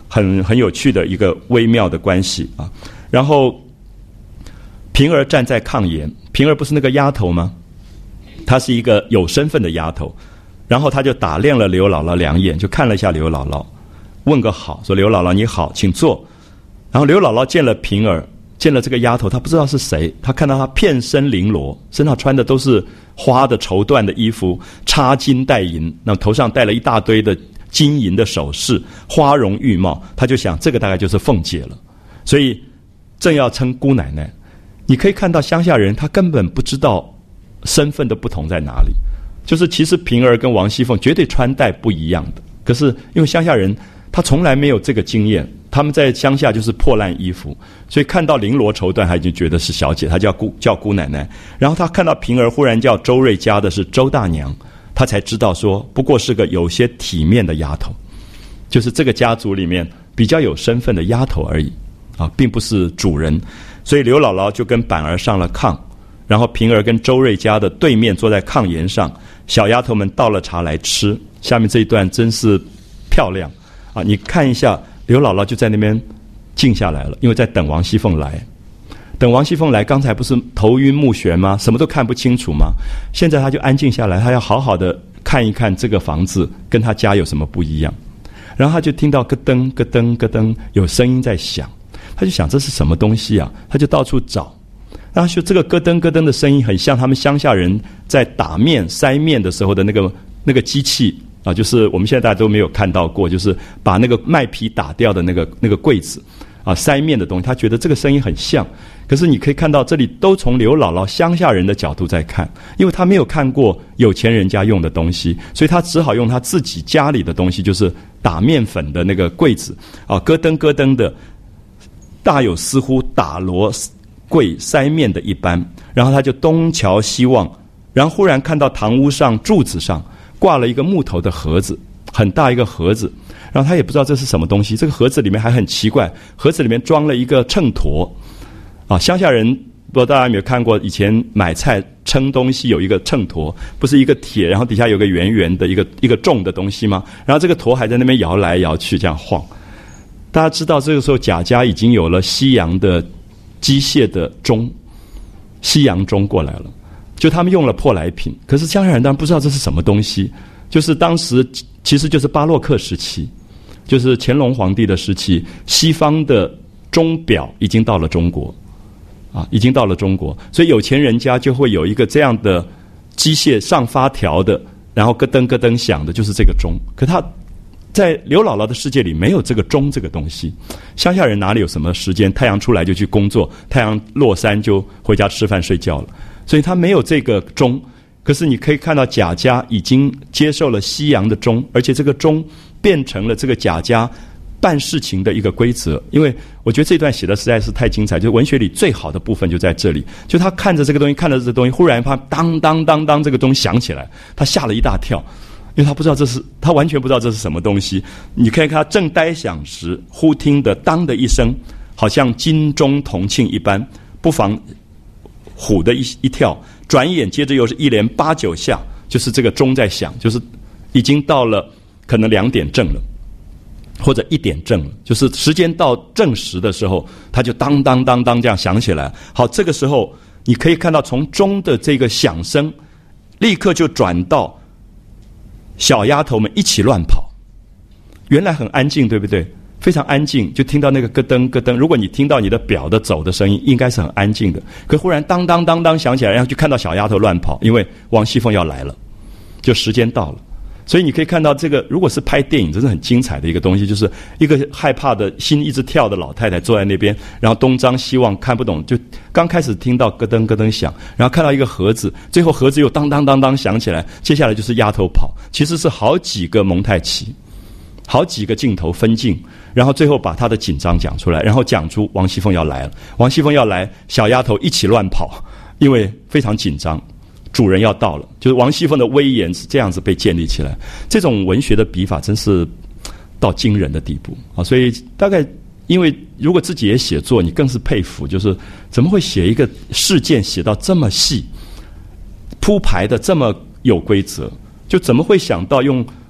很有趣的一个微妙的关系啊。然后平儿站在炕沿，平儿不是那个丫头吗？她是一个有身份的丫头，然后她就打量了刘姥姥两眼，就看了一下刘姥姥，问个好，说刘姥姥你好，请坐。然后刘姥姥见了平儿，见了这个丫头，她不知道是谁，她看到她片身绫罗，身上穿的都是花的绸缎的衣服，插金戴银，那头上戴了一大堆的金银的首饰，花容玉貌，她就想这个大概就是凤姐了，所以正要称姑奶奶。你可以看到乡下人他根本不知道身份的不同在哪里，就是其实平儿跟王熙凤绝对穿戴不一样的，可是因为乡下人他从来没有这个经验，他们在乡下就是破烂衣服，所以看到绫罗绸缎他已经觉得是小姐，他叫姑奶奶。然后他看到平儿忽然叫周瑞家的是周大娘，他才知道说不过是个有些体面的丫头，就是这个家族里面比较有身份的丫头而已啊，并不是主人。所以刘姥姥就跟板儿上了炕，然后平儿跟周瑞家的对面坐在炕沿上，小丫头们倒了茶来吃。下面这一段真是漂亮啊！你看一下，刘姥姥就在那边静下来了，因为在等王熙凤来。等王熙凤来，刚才不是头晕目眩吗？什么都看不清楚吗？现在她就安静下来，她要好好的看一看这个房子跟她家有什么不一样。然后她就听到咯噔咯噔咯噔有声音在响，她就想这是什么东西啊？她就到处找，然后就这个咯噔咯噔的声音很像他们乡下人在打面筛面的时候的那个机器啊，就是我们现在大家都没有看到过，就是把那个麦皮打掉的那个柜子啊，筛面的东西，他觉得这个声音很像。可是你可以看到这里都从刘姥姥乡下人的角度在看，因为他没有看过有钱人家用的东西，所以他只好用他自己家里的东西，就是打面粉的那个柜子啊，咯噔咯噔的，大有似乎打锣柜筛面的一般。然后他就东瞧西望，然后忽然看到堂屋上柱子上挂了一个木头的盒子，很大一个盒子，然后他也不知道这是什么东西。这个盒子里面还很奇怪，盒子里面装了一个秤砣啊。乡下人不知道大家有没有看过，以前买菜称东西有一个秤砣，不是一个铁，然后底下有个圆圆的一个重的东西吗？然后这个砣还在那边摇来摇去，这样晃。大家知道这个时候贾家已经有了西洋的机械的钟，西洋钟过来了，就他们用了舶来品。可是乡下人当然不知道这是什么东西，就是当时其实就是巴洛克时期，就是乾隆皇帝的时期，西方的钟表已经到了中国啊，已经到了中国，所以有钱人家就会有一个这样的机械上发条的，然后咯噔咯噔响的，就是这个钟。可他在刘姥姥的世界里没有这个钟这个东西，乡下人哪里有什么时间？太阳出来就去工作，太阳落山就回家吃饭睡觉了，所以他没有这个钟。可是你可以看到贾家已经接受了西洋的钟，而且这个钟变成了这个贾家办事情的一个规则。因为我觉得这段写的实在是太精彩，就是文学里最好的部分就在这里。就他看着这个东西，看着这个东西，忽然他当当当当，这个钟响起来，他吓了一大跳，因为他不知道他完全不知道这是什么东西。你可以看他正呆想时，忽听得当的一声，好像金钟铜磬一般，不妨唬的一跳，转眼接着又是一连8、9下，就是这个钟在响，就是已经到了可能2点正了，或者1点正了，就是时间到正时的时候，它就当当当当这样响起来。好，这个时候你可以看到从钟的这个响声，立刻就转到小丫头们一起乱跑。原来很安静，对不对？非常安静，就听到那个咯噔咯噔。如果你听到你的表的走的声音，应该是很安静的。可忽然当当当当响起来，然后就看到小丫头乱跑，因为王熙凤要来了，就时间到了。所以你可以看到这个，如果是拍电影，真是很精彩的一个东西，就是一个害怕的心一直跳的老太太坐在那边，然后东张西望，看不懂，就刚开始听到咯噔咯噔响，然后看到一个盒子，最后盒子又当当当当响起来，接下来就是丫头跑，其实是好几个蒙太奇，好几个镜头分镜，然后最后把他的紧张讲出来，然后讲出王熙凤要来了，王熙凤要来，小丫头一起乱跑，因为非常紧张，主人要到了，就是王熙凤的威严是这样子被建立起来。这种文学的笔法真是到惊人的地步啊！所以大概因为如果自己也写作，你更是佩服，就是怎么会写一个事件写到这么细，铺排的这么有规则，就怎么会想到用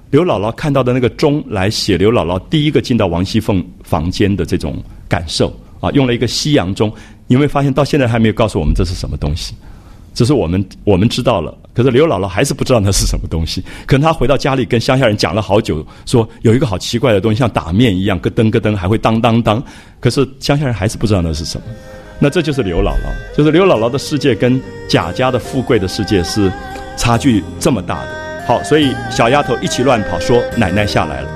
刘姥姥看到的那个钟来写刘姥姥第一个进到王熙凤房间的这种感受啊，用了一个西洋钟。你有没有发现到现在还没有告诉我们这是什么东西？只是我们知道了，可是刘姥姥还是不知道那是什么东西。可能她回到家里跟乡下人讲了好久，说有一个好奇怪的东西，像打面一样，咯噔咯噔，还会当当当。可是乡下人还是不知道那是什么。那这就是刘姥姥，就是刘姥姥的世界跟贾家的富贵的世界是差距这么大的。好，所以小丫头一起乱跑，说奶奶下来了。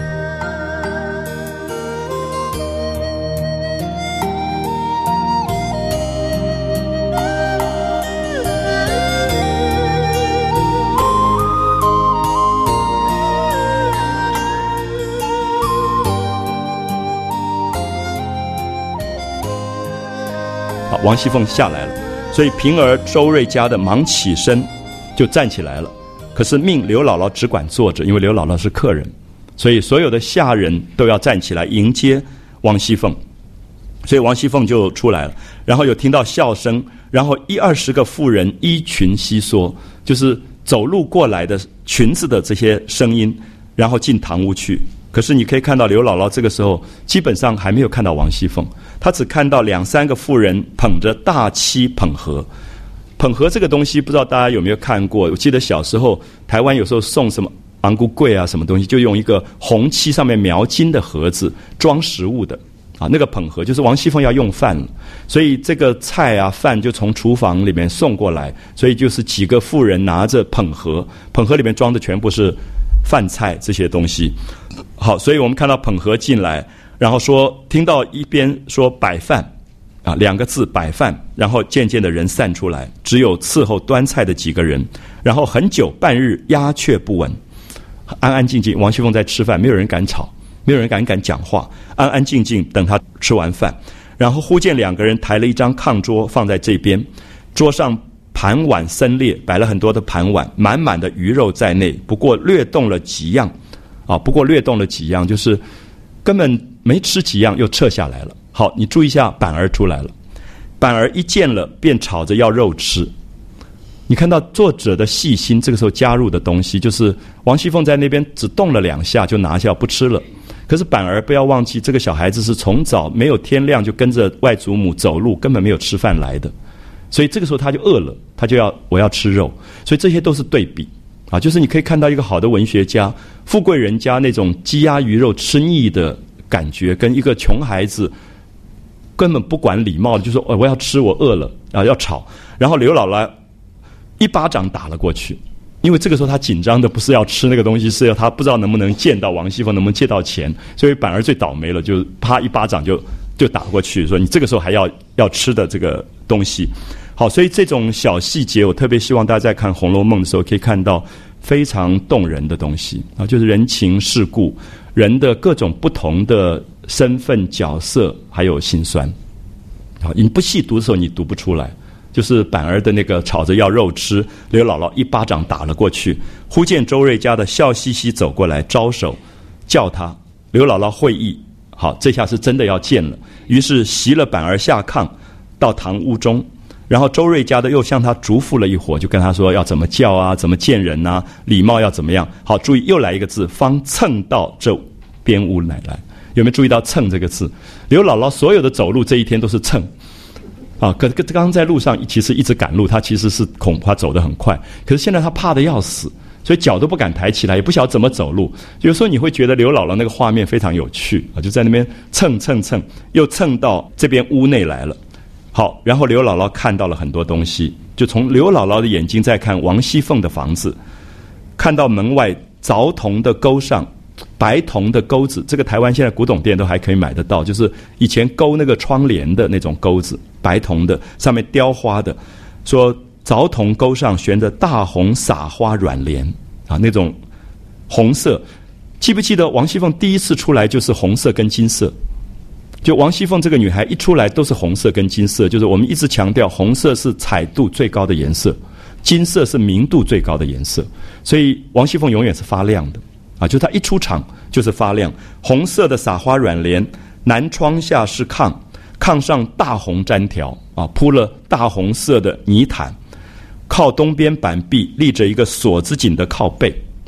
好，王熙凤下来了，所以平儿、周瑞家的忙起身就站起来了。可是命刘姥姥只管坐着，因为刘姥姥是客人，所以所有的下人都要站起来迎接王熙凤。所以王熙凤就出来了，然后有听到笑声，然后20-20个妇人依裙悉缩，就是走路过来的裙子的这些声音，然后进堂屋去。可是你可以看到刘姥姥这个时候基本上还没有看到王熙凤，她只看到2-3个妇人捧着大漆捧盒。捧盒这个东西不知道大家有没有看过，我记得小时候台湾有时候送什么昂菇桂啊什么东西，就用一个红漆上面描金的盒子装食物的啊，那个捧盒就是王熙凤要用饭了，所以这个菜啊饭就从厨房里面送过来，所以就是几个妇人拿着捧盒，捧盒里面装的全部是饭菜这些东西。好，所以我们看到捧盒进来，然后说听到一边说摆饭啊，2个字摆饭，然后渐渐的人散出来，只有伺候端菜的几个人，然后很久半日鸦雀不闻，安安静静，王熙凤在吃饭，没有人敢吵，没有人敢讲话，安安静静等她吃完饭。然后忽见2个人抬了一张炕桌放在这边，桌上盘碗森列，摆了很多的盘碗，满满的鱼肉在内，不过略动了几样啊，就是根本没吃几样又撤下来了。好，你注意一下，板儿出来了，板儿一见了便吵着要肉吃。你看到作者的细心，这个时候加入的东西就是王熙凤在那边只动了2下就拿下不吃了，可是板儿不要忘记，这个小孩子是从早没有天亮就跟着外祖母走路，根本没有吃饭来的，所以这个时候他就饿了，他就要我要吃肉，所以这些都是对比啊，就是你可以看到一个好的文学家，富贵人家那种鸡鸭鱼肉吃腻的感觉，跟一个穷孩子根本不管礼貌的就说我要吃，我饿了啊，要吵。然后刘姥姥一巴掌打了过去，因为这个时候他紧张的不是要吃那个东西，是要他不知道能不能见到王熙凤，能不能借到钱，所以板儿最倒霉了，就啪一巴掌就打过去，说你这个时候还要吃的这个东西。好，所以这种小细节我特别希望大家在看《红楼梦》的时候可以看到非常动人的东西啊，就是人情世故，人的各种不同的身份角色还有辛酸。好，你不细读的时候你读不出来，就是板儿的那个吵着要肉吃，刘姥姥一巴掌打了过去，忽见周瑞家的笑嘻嘻走过来招手叫他，刘姥姥会意，好，这下是真的要见了，于是袭了板儿下炕到堂屋中，然后周瑞家的又向他嘱咐了一会，就跟他说要怎么叫啊，怎么见人啊，礼貌要怎么样。好，注意又来一个字，方蹭到这边屋来。有没有注意到蹭这个字？刘姥姥所有的走路这一天都是蹭啊，刚刚在路上其实一直赶路，她其实是恐怕走得很快，可是现在她怕得要死，所以脚都不敢抬起来，也不晓得怎么走路。有时候你会觉得刘姥姥那个画面非常有趣啊，就在那边蹭，又蹭到这边屋内来了。好，然后刘姥姥看到了很多东西，就从刘姥姥的眼睛再看王熙凤的房子，看到门外凿铜的钩上白铜的钩子，这个台湾现在古董店都还可以买得到，就是以前勾那个窗帘的那种钩子，白铜的，上面雕花的，说凿铜钩上悬着大红撒花软帘啊，那种红色。记不记得王熙凤第一次出来就是红色跟金色？就王熙凤这个女孩一出来都是红色跟金色，就是我们一直强调红色是彩度最高的颜色，金色是明度最高的颜色，所以王熙凤永远是发亮的啊，就她一出场就是发亮。红色的撒花软帘，南窗下是炕，炕上大红毡条啊，铺了大红色的泥毯，靠东边板壁立着一个锁子锦的靠背。好，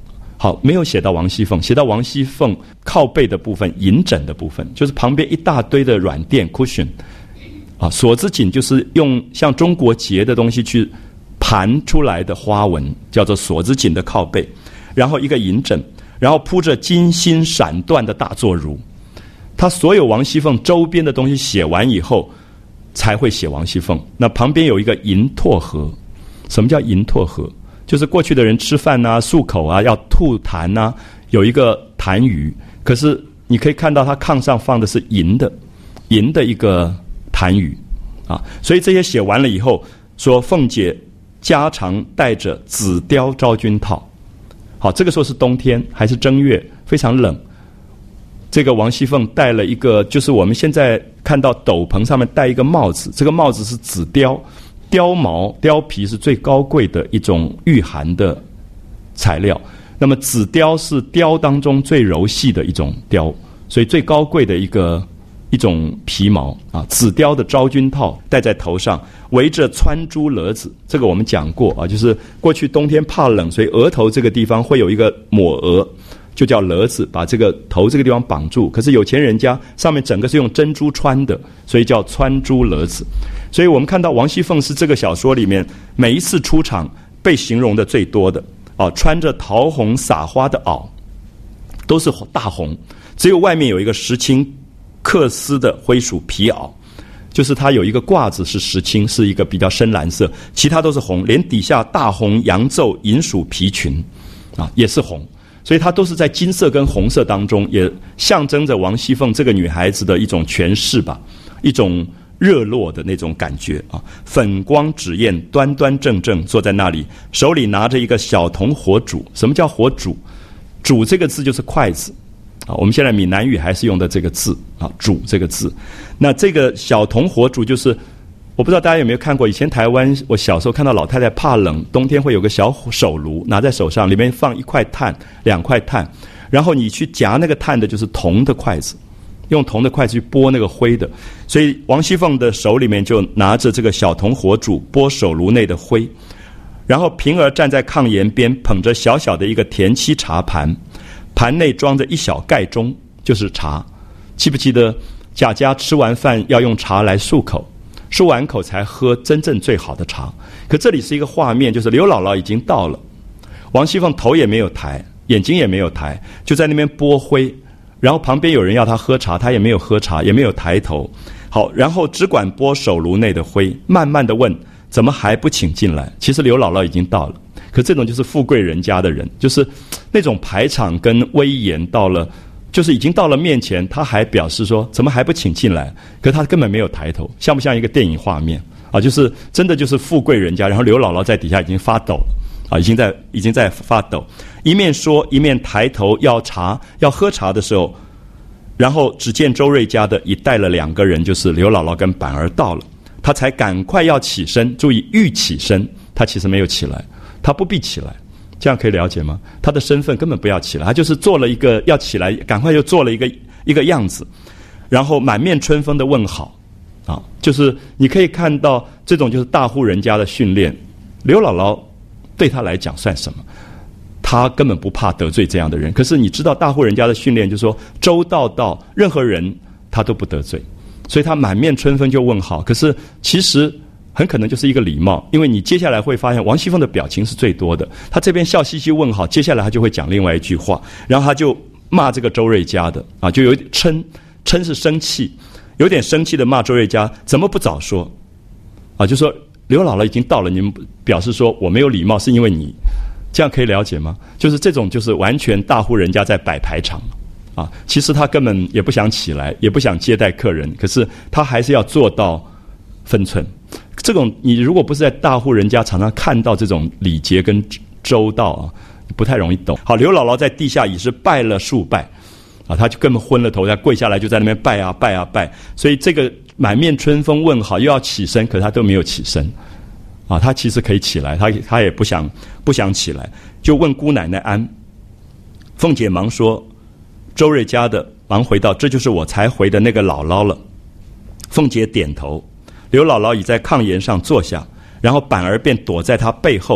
好，没有写到王熙凤，写到王熙凤靠背的部分，银枕的部分，就是旁边一大堆的软垫 cushion 啊，锁子锦就是用像中国结的东西去盘出来的花纹，叫做锁子锦的靠背，然后一个银枕，然后铺着金星闪缎的大作褥。他所有王熙凤周边的东西写完以后，才会写王熙凤。那旁边有一个银唾盒，什么叫银唾盒？就是过去的人吃饭啊、漱口啊要吐痰啊，有一个痰盂，可是你可以看到他炕上放的是银的一个痰盂啊。所以这些写完了以后，说凤姐家常带着紫貂昭君套。好，这个时候是冬天，还是正月，非常冷。这个王熙凤戴了一个，就是我们现在看到斗篷上面戴一个帽子，这个帽子是紫貂。貂毛、貂皮是最高贵的一种御寒的材料，那么紫貂是貂当中最柔细的一种貂，所以最高贵的一种皮毛啊。紫貂的昭君套戴在头上，围着穿珠勒子，这个我们讲过啊，就是过去冬天怕冷，所以额头这个地方会有一个抹额，就叫勒子，把这个头这个地方绑住。可是有钱人家上面整个是用珍珠穿的，所以叫穿珠勒子。所以我们看到王熙凤是这个小说里面每一次出场被形容的最多的啊，穿着桃红撒花的袄，都是大红，只有外面有一个石青缂丝的灰鼠皮袄，就是它有一个褂子是石青，是一个比较深蓝色，其他都是红，连底下大红洋皱银鼠皮裙啊也是红。所以它都是在金色跟红色当中，也象征着王熙凤这个女孩子的一种权势吧，一种热络的那种感觉啊。粉光纸砚，端端正正坐在那里，手里拿着一个小铜火煮。什么叫火煮？煮这个字就是筷子啊，我们现在闽南语还是用的这个字啊，煮这个字。那这个小铜火煮就是，我不知道大家有没有看过，以前台湾我小时候看到老太太怕冷，冬天会有个小手炉拿在手上，里面放一块炭、2块炭，然后你去夹那个炭的就是铜的筷子，用铜的筷子去拨那个灰的。所以王熙凤的手里面就拿着这个小铜火煮拨手炉内的灰，然后平儿站在炕沿边，捧着小小的一个田七茶盘，盘内装着一小盖盅，就是茶。记不记得贾家吃完饭要用茶来漱口，漱完口才喝真正最好的茶。可这里是一个画面，就是刘姥姥已经到了，王熙凤头也没有抬，眼睛也没有抬，就在那边拨灰，然后旁边有人要她喝茶，她也没有喝茶，也没有抬头。好，然后只管拨手炉内的灰，慢慢的问怎么还不请进来。其实刘姥姥已经到了，可这种就是富贵人家的人，就是那种排场跟威严到了，就是已经到了面前，他还表示说怎么还不请进来，可他根本没有抬头，像不像一个电影画面啊？就是真的就是富贵人家，然后刘姥姥在底下已经发抖了啊，已经在发抖，一面说一面抬头要喝茶的时候，然后只见周瑞家的已带了2个人，就是刘姥姥跟板儿到了，他才赶快要起身，注意欲起身，他其实没有起来，他不必起来。这样可以了解吗？他的身份根本不要起来，他就是做了一个要起来，赶快就做了一个样子，然后满面春风的问好啊，就是你可以看到这种就是大户人家的训练。刘姥姥对他来讲算什么？他根本不怕得罪这样的人。可是你知道大户人家的训练，就是说周到到任何人他都不得罪，所以他满面春风就问好。可是其实很可能就是一个礼貌，因为你接下来会发现王熙凤的表情是最多的，她这边笑嘻嘻问好，接下来她就会讲另外一句话，然后她就骂这个周瑞家的啊，就有一点嗔是生气，有点生气的骂周瑞家怎么不早说啊，就说刘姥姥已经到了，你们表示说我没有礼貌是因为你，这样可以了解吗？就是这种就是完全大户人家在摆排场啊，其实他根本也不想起来，也不想接待客人，可是他还是要做到分寸。这种你如果不是在大户人家常常看到这种礼节跟周到啊，不太容易懂。好，刘姥姥在地下已是拜了数拜啊，他就根本昏了头，他跪下来就在那边拜啊拜啊拜，所以这个满面春风问好又要起身，可是他都没有起身啊，他其实可以起来，他也不想起来，就问姑奶奶安。凤姐忙说，周瑞家的忙回道，这就是我才回的那个姥姥了。凤姐点头，刘姥姥已在炕沿上坐下，然后板儿便躲在她背后。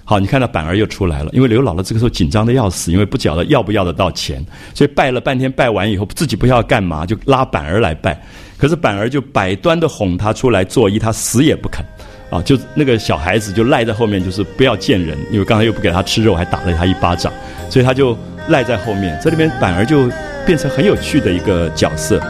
好，你看到板儿又出来了，因为刘姥姥这个时候紧张的要死，因为不晓得要不要得到钱，所以拜了半天，拜完以后自己不知道干嘛，就拉板儿来拜。可是板儿就百端的哄他出来作揖，他死也不肯。啊，就那个小孩子就赖在后面，就是不要见人，因为刚才又不给他吃肉，还打了他一巴掌，所以他就赖在后面。这里边板儿就变成很有趣的一个角色。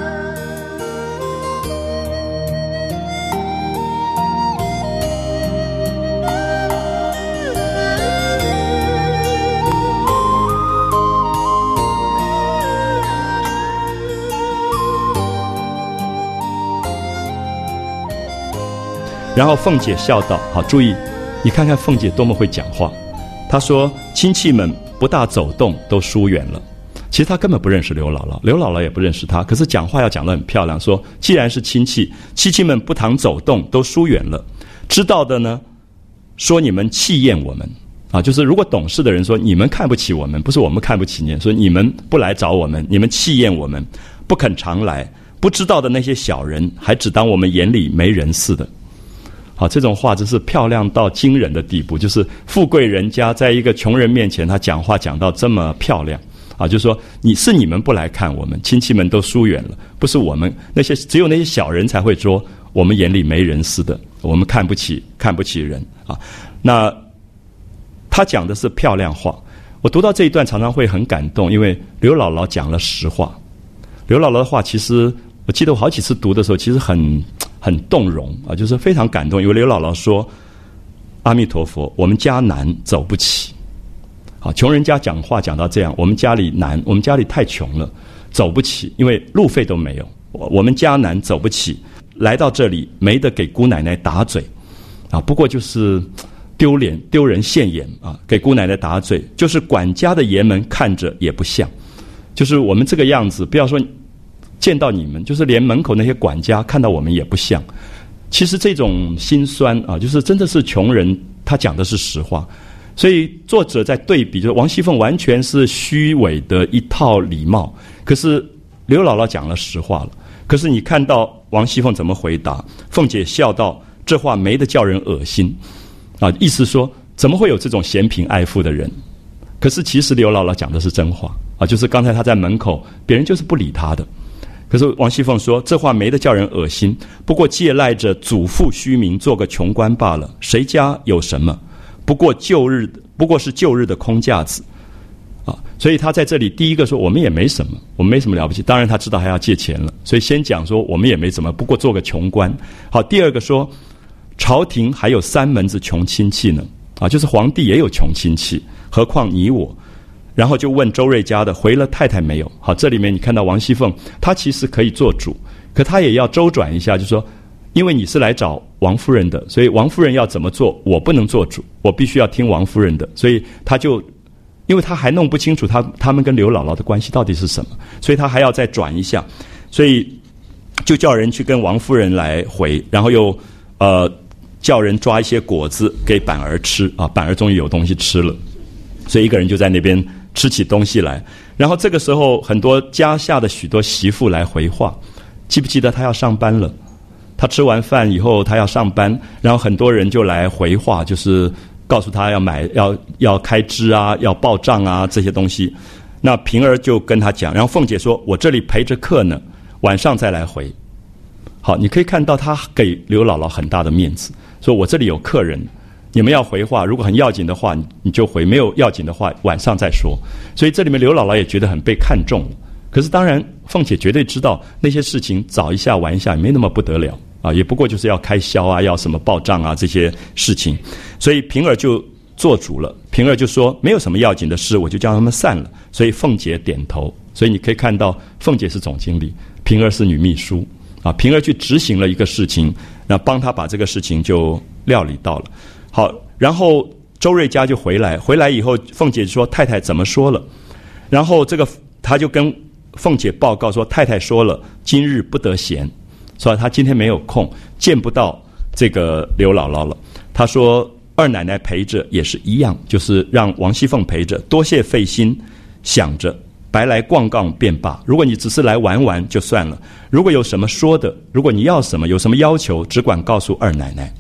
然后凤姐笑道：“好，注意，你看看凤姐多么会讲话。她说亲戚们不大走动，都疏远了。其实她根本不认识刘姥姥，刘姥姥也不认识她。可是讲话要讲得很漂亮，说既然是亲戚，亲戚们不常走动，都疏远了。知道的呢，说你们弃厌我们啊，就是如果懂事的人说你们看不起我们，不是我们看不起你，说你们不来找我们，你们弃厌我们，不肯常来。不知道的那些小人，还只当我们眼里没人似的。”好，这种话真是漂亮到惊人的地步，就是富贵人家在一个穷人面前，他讲话讲到这么漂亮啊，就是说你们不来看我们，亲戚们都疏远了，不是我们那些，只有那些小人才会说我们眼里没人似的，我们看不起人啊。那他讲的是漂亮话，我读到这一段常常会很感动，因为刘姥姥讲了实话。刘姥姥的话，其实我记得我好几次读的时候，其实很动容啊，就是非常感动。因为刘姥姥说：“阿弥陀佛，我们家难，走不起。好，穷人家讲话讲到这样，我们家里难，我们家里太穷了，走不起，因为路费都没有。我们家难，走不起，来到这里没得给姑奶奶打嘴啊。不过就是丢人现眼啊，给姑奶奶打嘴，就是管家的爷们看着也不像，就是我们这个样子，不要说。”见到你们，就是连门口那些管家看到我们也不像。其实这种心酸啊，就是真的是穷人，他讲的是实话。所以作者在对比，就是王熙凤完全是虚伪的一套礼貌，可是刘姥姥讲了实话了。可是你看到王熙凤怎么回答？凤姐笑道：“这话没得叫人恶心啊！”意思说，怎么会有这种嫌贫爱富的人？可是其实刘姥姥讲的是真话啊，就是刚才她在门口，别人就是不理她的。可是王熙凤说：“这话没得叫人恶心，不过借赖着祖父虚名，做个穷官罢了。谁家有什么？不过是旧日的空架子啊！”所以他在这里第一个说：“我们也没什么，我们没什么了不起。”当然他知道还要借钱了，所以先讲说我们也没什么，不过做个穷官。好，第二个说，朝廷还有3门子穷亲戚呢啊，就是皇帝也有穷亲戚，何况你我。然后就问周瑞家的回了太太没有？好，这里面你看到王熙凤，她其实可以做主，可她也要周转一下，就说，因为你是来找王夫人的，所以王夫人要怎么做，我不能做主，我必须要听王夫人的，所以她就，因为她还弄不清楚他们跟刘姥姥的关系到底是什么，所以她还要再转一下，所以就叫人去跟王夫人来回，然后又叫人抓一些果子给板儿吃啊，板儿终于有东西吃了，所以一个人就在那边。吃起东西来，然后这个时候很多家下的许多媳妇来回话，记不记得他要上班了？他吃完饭以后他要上班，然后很多人就来回话，就是告诉他要开支啊，要报账啊这些东西。那平儿就跟他讲，然后凤姐说：“我这里陪着客呢，晚上再来回。”好，你可以看到他给刘姥姥很大的面子，说我这里有客人。你们要回话，如果很要紧的话，你就回；没有要紧的话，晚上再说。所以这里面刘姥姥也觉得很被看中了。可是当然，凤姐绝对知道那些事情早一下晚一下也没那么不得了啊，也不过就是要开销啊，要什么报账啊这些事情。所以平儿就做主了，平儿就说没有什么要紧的事，我就叫他们散了。所以凤姐点头。所以你可以看到，凤姐是总经理，平儿是女秘书啊。平儿去执行了一个事情，那帮他把这个事情就料理到了。好，然后周瑞家就回来以后，凤姐说太太怎么说了，然后他就跟凤姐报告说太太说了，今日不得闲，所以他今天没有空，见不到这个刘姥姥了。他说二奶奶陪着也是一样，就是让王熙凤陪着，多谢费心，想着白来逛逛便罢。如果你只是来玩玩就算了，如果有什么说的，如果你要什么，有什么要求，只管告诉二奶奶。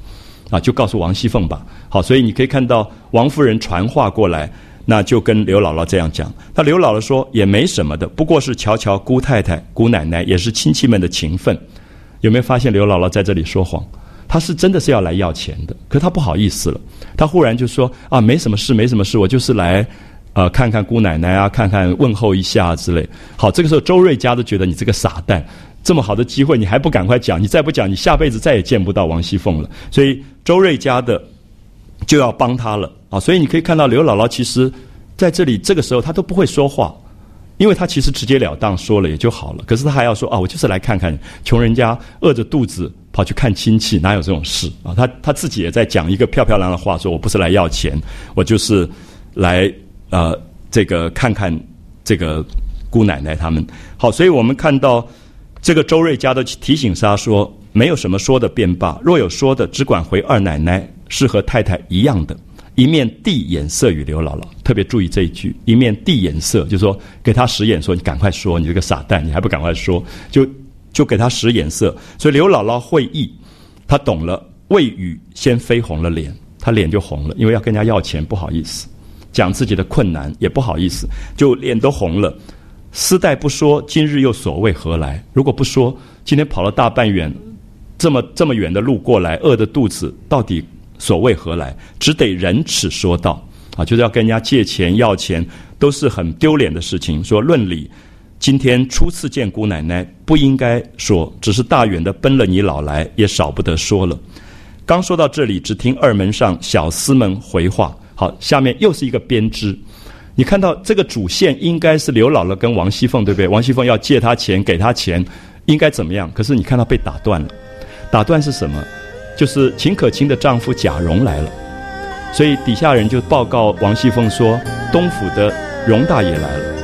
就告诉王熙凤吧。好，所以你可以看到王夫人传话过来，那就跟刘姥姥这样讲。那刘姥姥说也没什么的，不过是瞧瞧姑太太、姑奶奶也是亲戚们的情分。有没有发现刘姥姥在这里说谎？她是真的是要来要钱的，可她不好意思了，她忽然就说没什么事，没什么事，我就是来看看姑奶奶啊，看看问候一下之类。好，这个时候周瑞家都觉得你这个傻蛋，这么好的机会你还不赶快讲，你再不讲你下辈子再也见不到王熙凤了。所以周瑞家的就要帮他了所以你可以看到刘姥姥其实在这里这个时候她都不会说话，因为她其实直截了当说了也就好了，可是她还要说我就是来看看穷人家饿着肚子跑去看亲戚，哪有这种事她自己也在讲一个漂漂亮的话，说我不是来要钱，我就是来这个看看这个姑奶奶他们。好，所以我们看到这个周瑞家的提醒他说，没有什么说的便罢，若有说的只管回二奶奶，是和太太一样的，一面递眼色与刘姥姥。特别注意这一句，一面递眼色，就是说给他使眼说你赶快说，你这个傻蛋你还不赶快说，就给他使眼色。所以刘姥姥会意，她懂了，未语先绯红了脸，她脸就红了，因为要跟人家要钱不好意思，讲自己的困难也不好意思，就脸都红了。丝带不说，今日又所谓何来？如果不说，今天跑了大半远，这么远的路过来，饿的肚子，到底所谓何来？只得忍耻说道就是要跟人家借钱要钱，都是很丢脸的事情。说论理，今天初次见姑奶奶，不应该说，只是大远的奔了你老来，也少不得说了。刚说到这里，只听二门上小厮们回话。好，下面又是一个编织。你看到这个主线应该是刘姥姥跟王熙凤，对不对？王熙凤要借她钱，给她钱，应该怎么样？可是你看到被打断了。打断是什么？就是秦可卿的丈夫贾蓉来了，所以底下人就报告王熙凤说，东府的荣大爷来了。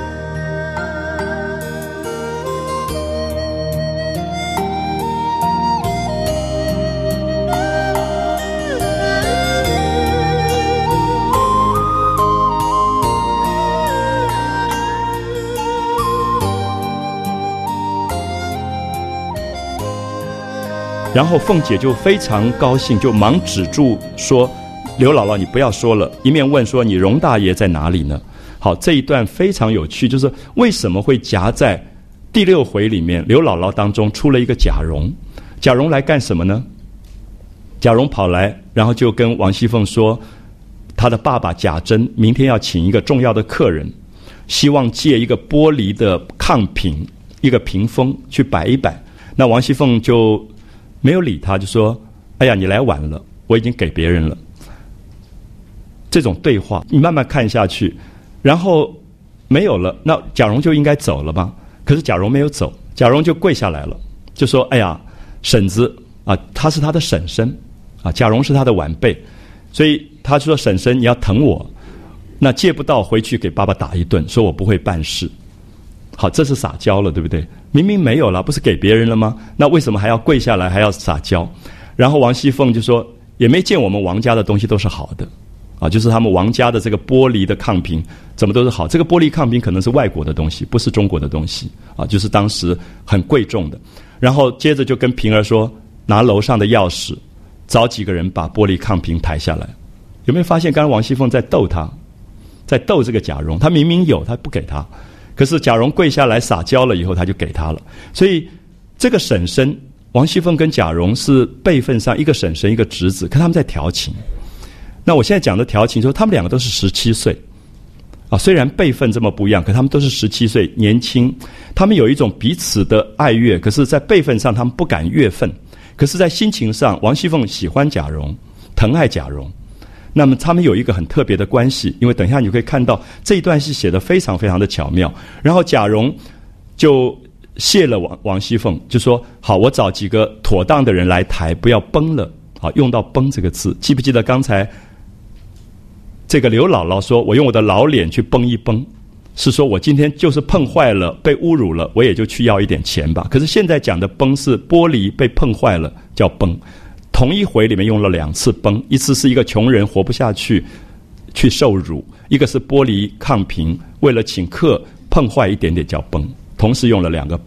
然后凤姐就非常高兴，就忙止住说，刘姥姥你不要说了，一面问说你荣大爷在哪里呢？好，这一段非常有趣，就是为什么会夹在第6回里面刘姥姥当中出了一个贾蓉。贾蓉来干什么呢？贾蓉跑来，然后就跟王熙凤说，他的爸爸贾珍明天要请一个重要的客人，希望借一个玻璃的炕瓶，一个屏风去摆一摆。那王熙凤就没有理他，就说哎呀你来晚了，我已经给别人了。这种对话你慢慢看下去，然后没有了，那贾蓉就应该走了吧？可是贾蓉没有走，贾蓉就跪下来了，就说哎呀婶子她是她的婶婶贾蓉是她的晚辈，所以她说婶婶你要疼我，那借不到回去给爸爸打一顿，说我不会办事。好，这是撒娇了，对不对？明明没有了，不是给别人了吗？那为什么还要跪下来还要撒娇？然后王熙凤就说也没见我们王家的东西都是好的就是他们王家的这个玻璃的炕瓶怎么都是好，这个玻璃炕瓶可能是外国的东西，不是中国的东西就是当时很贵重的。然后接着就跟平儿说，拿楼上的钥匙找几个人把玻璃炕瓶抬下来。有没有发现刚刚王熙凤在逗他，在逗这个贾蓉？他明明有，他不给他，可是贾蓉跪下来撒娇了以后，他就给他了。所以这个婶婶王熙凤跟贾蓉是辈分上一个婶婶一个侄子，可他们在调情。那我现在讲的调情，说他们两个都是17岁虽然辈分这么不一样，可他们都是17岁，年轻。他们有一种彼此的爱乐，可是在辈分上他们不敢越分，可是在心情上王熙凤喜欢贾蓉，疼爱贾蓉。那么他们有一个很特别的关系，因为等一下你会看到这一段是写得非常非常的巧妙。然后贾蓉就谢了王熙凤，就说好，我找几个妥当的人来抬，不要崩了。好，用到崩这个字，记不记得刚才这个刘姥姥说我用我的老脸去崩一崩，是说我今天就是碰坏了被侮辱了，我也就去要一点钱吧。可是现在讲的崩是玻璃被碰坏了叫崩，同一回里面用了2次崩，一次是一个穷人活不下去去受辱，一个是玻璃炕瓶为了请客碰坏一点点叫崩，同时用了2个崩，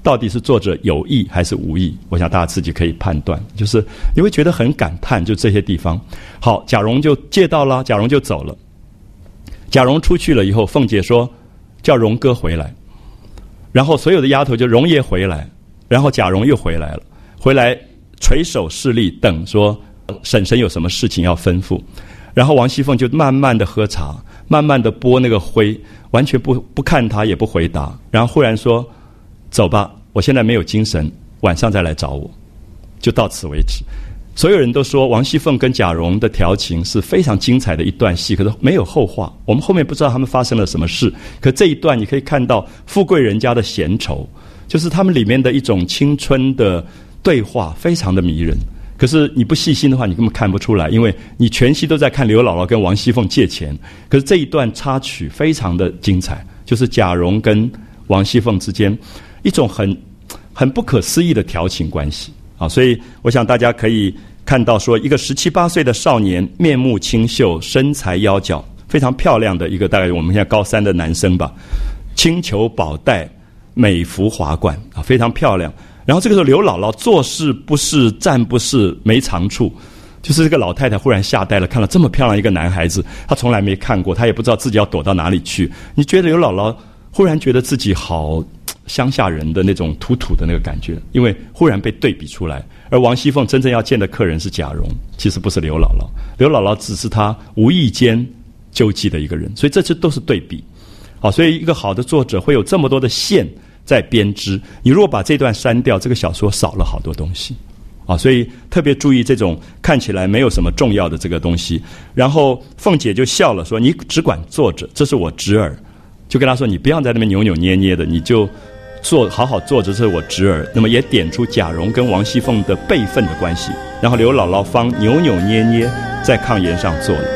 到底是作者有意还是无意？我想大家自己可以判断，就是你会觉得很感叹，就这些地方。好，贾蓉就借到了，贾蓉就走了。贾蓉出去了以后，凤姐说叫蓉哥回来，然后所有的丫头就蓉爷回来，然后贾蓉又回来了，回来垂手侍立，等说婶婶有什么事情要吩咐。然后王熙凤就慢慢的喝茶，慢慢的拨那个灰，完全不看他，也不回答。然后忽然说走吧，我现在没有精神，晚上再来找我。就到此为止。所有人都说王熙凤跟贾蓉的调情是非常精彩的一段戏，可是没有后话，我们后面不知道他们发生了什么事。可这一段你可以看到富贵人家的闲愁，就是他们里面的一种青春的对话，非常的迷人。可是你不细心的话，你根本看不出来，因为你全戏都在看刘姥姥跟王熙凤借钱。可是这一段插曲非常的精彩，就是贾蓉跟王熙凤之间一种很不可思议的调情关系啊！所以我想大家可以看到说，一个17、18岁的少年，面目清秀，身材腰脚，非常漂亮的一个，大概我们现在高3的男生吧，青裘宝带，美服华冠啊，非常漂亮。然后这个时候刘姥姥做事不是，站不是，没长处，就是这个老太太忽然吓呆了，看了这么漂亮一个男孩子，她从来没看过，她也不知道自己要躲到哪里去。你觉得刘姥姥忽然觉得自己好乡下人的那种土土的那个感觉，因为忽然被对比出来。而王熙凤真正要见的客人是贾蓉，其实不是刘姥姥，刘姥姥只是她无意间救济的一个人，所以这些都是对比。好，所以一个好的作者会有这么多的线在编织，你如果把这段删掉，这个小说少了好多东西啊，所以特别注意这种看起来没有什么重要的这个东西。然后凤姐就笑了，说你只管坐着，这是我侄儿，就跟他说你不要在那边扭扭捏捏的，你就好好坐着，这是我侄儿。那么也点出贾蓉跟王熙凤的辈分的关系，然后刘姥姥方扭扭捏捏在炕沿上坐了。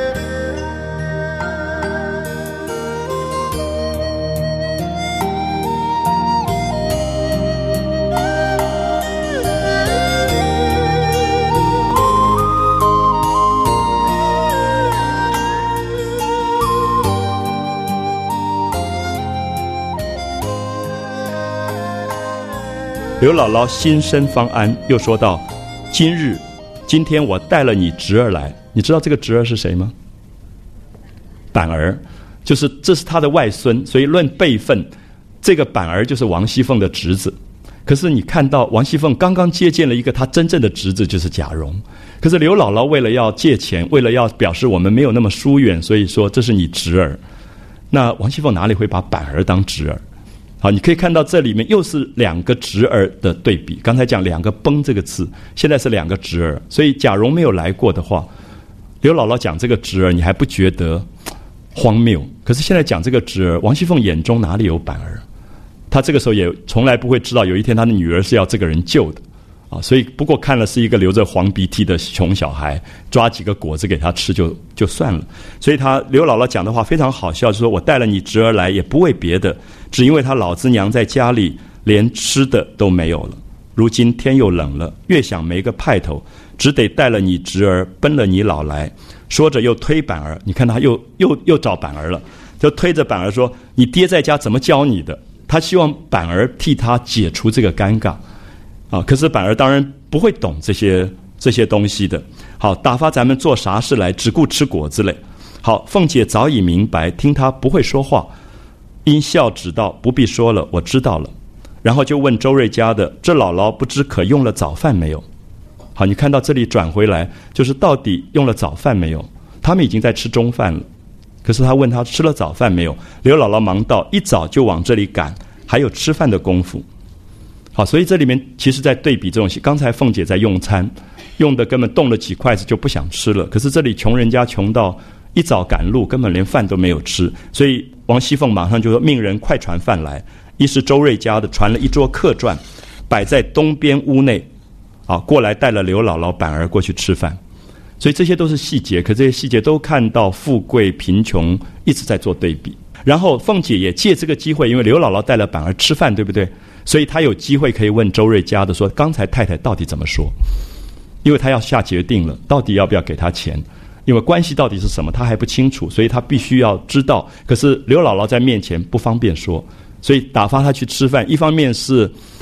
刘姥姥心生方安，又说道：今天我带了你侄儿来，你知道这个侄儿是谁吗？板儿，就是这是他的外孙，所以论辈分，这个板儿就是王熙凤的侄子。可是你看到王熙凤刚刚接见了一个他真正的侄子，就是贾蓉。可是刘姥姥为了要借钱，为了要表示我们没有那么疏远，所以说这是你侄儿。那王熙凤哪里会把板儿当侄儿？好，你可以看到这里面又是两个侄儿的对比。刚才讲两个崩这个字，现在是两个侄儿。所以贾蓉没有来过的话，刘姥姥讲这个侄儿，你还不觉得荒谬？可是现在讲这个侄儿，王熙凤眼中哪里有板儿？她这个时候也从来不会知道，有一天她的女儿是要这个人救的啊。所以不过看了是一个流着黄鼻涕的穷小孩，抓几个果子给他吃就算了。所以刘姥姥讲的话非常好笑，就是说我带了你侄儿来，也不为别的，只因为他老子娘在家里连吃的都没有了，如今天又冷了，越想没个派头，只得带了你侄儿奔了你老来。说着又推板儿，你看他又找板儿了，就推着板儿说你爹在家怎么教你的？他希望板儿替他解除这个尴尬啊。可是板儿当然不会懂这些东西的。好，打发咱们做啥事来，只顾吃果子嘞。好，凤姐早已明白，听他不会说话，因笑指道不必说了，我知道了。然后就问周瑞家的，这姥姥不知可用了早饭没有？好，你看到这里转回来，就是到底用了早饭没有？他们已经在吃中饭了，可是他问他吃了早饭没有？刘姥姥忙道一早就往这里赶，还有吃饭的功夫。好，所以这里面其实在对比这种，刚才凤姐在用餐，用的根本动了几筷子就不想吃了，可是这里穷人家穷到一早赶路，根本连饭都没有吃，所以王熙凤马上就说命人快传饭来。一是周瑞家的传了一桌客馔，摆在东边屋内，啊，过来带了刘姥姥板儿过去吃饭。所以这些都是细节，可这些细节都看到富贵贫穷一直在做对比。然后凤姐也借这个机会，因为刘姥姥带了板儿吃饭，对不对？所以她有机会可以问周瑞家的说，刚才太太到底怎么说？因为她要下决定了，到底要不要给她钱，因为关系到底是什么她还不清楚，所以她必须要知道。可是刘姥姥在面前不方便说，所以打发她去吃饭，一方面是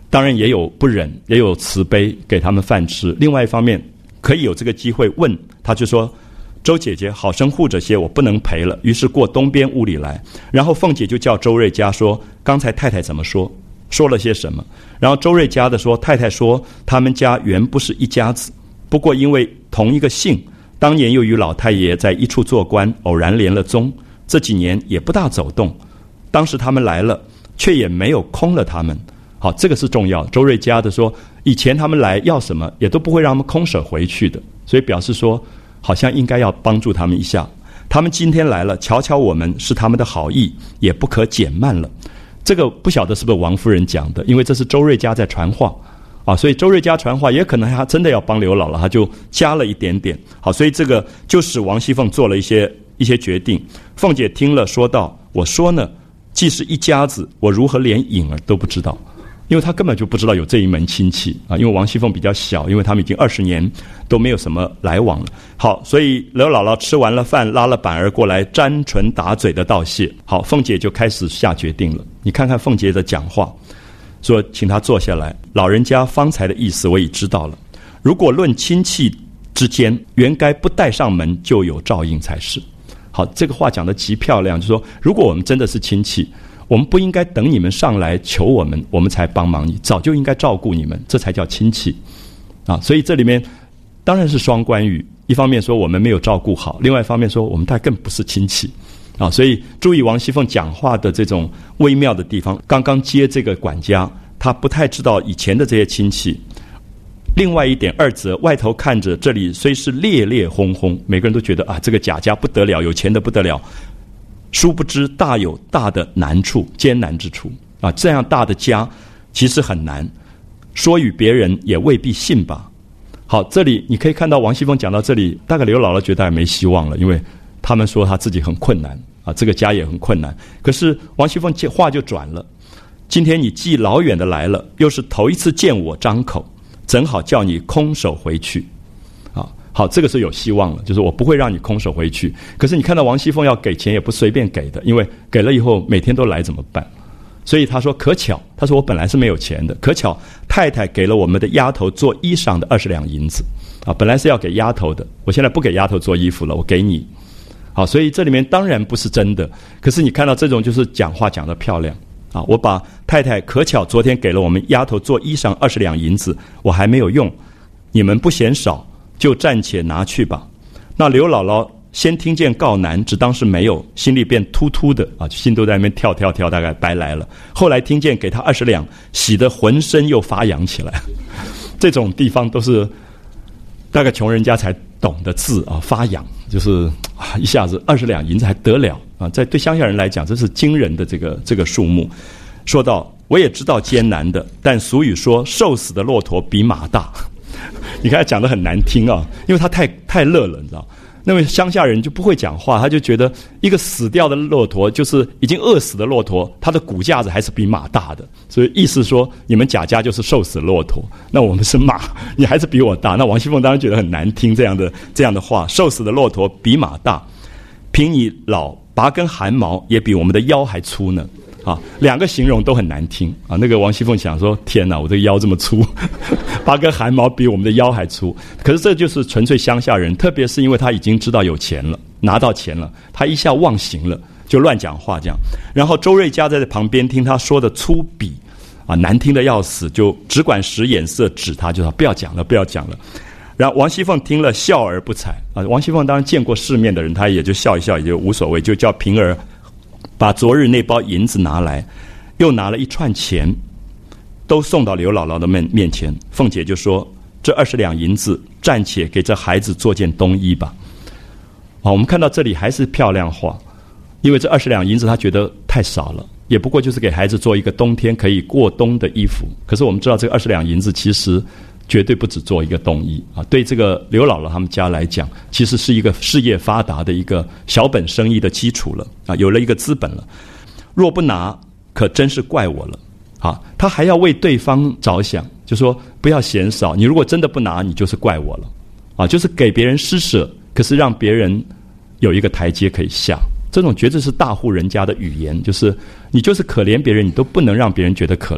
当然也有不忍，也有慈悲，给他们饭吃。另外一方面，可以有这个机会问，他就说：“周姐姐，好生护着些，我不能陪了。”于是过东边屋里来，然后凤姐就叫周瑞家说：“刚才太太怎么说？说了些什么？”然后周瑞家的说：“太太说，他们家原不是一家子，不过因为同一个姓，当年又与老太爷在一处做官，偶然连了宗，这几年也不大走动。当时他们来了，却也没有空了他们。”好，这个是重要的。周瑞家的说，以前他们来要什么，也都不会让他们空手回去的，所以表示说，好像应该要帮助他们一下。他们今天来了，瞧瞧我们是他们的好意，也不可减慢了。这个不晓得是不是王夫人讲的，因为这是周瑞家在传话啊，所以周瑞家传话也可能他真的要帮刘姥姥，他就加了一点点。好，所以这个就使王熙凤做了一些决定。凤姐听了说道：“我说呢，既是一家子，我如何连影儿都不知道？”因为他根本就不知道有这一门亲戚啊，因为王熙凤比较小，因为他们已经20年都没有什么来往了。好，所以刘姥姥吃完了饭，拉了板儿过来，沾唇打嘴的道谢。好，凤姐就开始下决定了。你看看凤姐的讲话，说请她坐下来，老人家方才的意思我已知道了。如果论亲戚之间，原该不带上门就有照应才是。好，这个话讲得极漂亮，就是说，如果我们真的是亲戚，我们不应该等你们上来求我们，我们才帮忙你，早就应该照顾你们，这才叫亲戚啊！所以这里面当然是双关语，一方面说我们没有照顾好，另外一方面说我们大概更不是亲戚啊！所以注意王熙凤讲话的这种微妙的地方。刚刚接这个管家，他不太知道以前的这些亲戚。另外一点，二则外头看着这里虽是烈烈轰轰，每个人都觉得啊，这个贾家不得了，有钱的不得了。殊不知大有大的难处，艰难之处啊！这样大的家其实很难，说与别人也未必信吧。好，这里你可以看到王熙凤讲到这里，大概刘姥姥觉得还没希望了，因为他们说他自己很困难啊，这个家也很困难。可是王熙凤话就转了，今天你既老远的来了，又是头一次见我张口，怎好叫你空手回去？好，这个是有希望了，就是我不会让你空手回去。可是你看到王熙凤要给钱也不随便给的，因为给了以后每天都来怎么办？所以他说可巧，他说我本来是没有钱的，可巧太太给了我们的丫头做衣裳的20两银子啊，本来是要给丫头的，我现在不给丫头做衣服了，我给你。好，所以这里面当然不是真的，可是你看到这种就是讲话讲得漂亮啊！我把太太可巧昨天给了我们丫头做衣裳20两银子，我还没有用，你们不嫌少，就暂且拿去吧。那刘姥姥先听见告难，只当是没有，心里便突突的啊，心都在那边跳，大概白来了。后来听见给他20两，喜得浑身又发痒起来。这种地方都是大概穷人家才懂的字啊，发痒就是啊，一下子20两银子还得了啊！在对乡下人来讲，这是惊人的这个数目。说到我也知道艰难的，但俗语说瘦死的骆驼比马大。你看他讲得很难听啊，因为他太乐了，你知道。那位乡下人就不会讲话，他就觉得一个死掉的骆驼，就是已经饿死的骆驼，它的骨架子还是比马大的，所以意思说你们贾家就是瘦死骆驼，那我们是马，你还是比我大。那王熙凤当然觉得很难听这样的话，瘦死的骆驼比马大，凭你老拔根汗毛也比我们的腰还粗呢。啊，两个形容都很难听啊！那个王熙凤想说：天哪，我这个腰这么粗，拔根汗毛比我们的腰还粗。可是这就是纯粹乡下人，特别是因为他已经知道有钱了，拿到钱了，他一下忘形了，就乱讲话这样。然后周瑞家在旁边听他说的粗鄙啊，难听的要死，就只管使眼色指他，就说不要讲了，不要讲了。然后王熙凤听了笑而不睬啊。王熙凤当然见过世面的人，她也就笑一笑，也就无所谓，就叫平儿把昨日那包银子拿来，又拿了一串钱，都送到刘姥姥的面前。凤姐就说：这20两银子，暂且给这孩子做件冬衣吧。我们看到这里还是漂亮话，因为这20两银子她觉得太少了，也不过就是给孩子做一个冬天可以过冬的衣服。可是我们知道这个20两银子其实绝对不只做一个冬衣啊！对这个刘姥姥他们家来讲，其实是一个事业发达的一个小本生意的基础了啊，有了一个资本了。若不拿，可真是怪我了啊！他还要为对方着想，就说不要嫌少，你如果真的不拿，你就是怪我了啊！就是给别人施舍，可是让别人有一个台阶可以下。这种绝对是大户人家的语言，就是你就是可怜别人，你都不能让别人觉得可怜。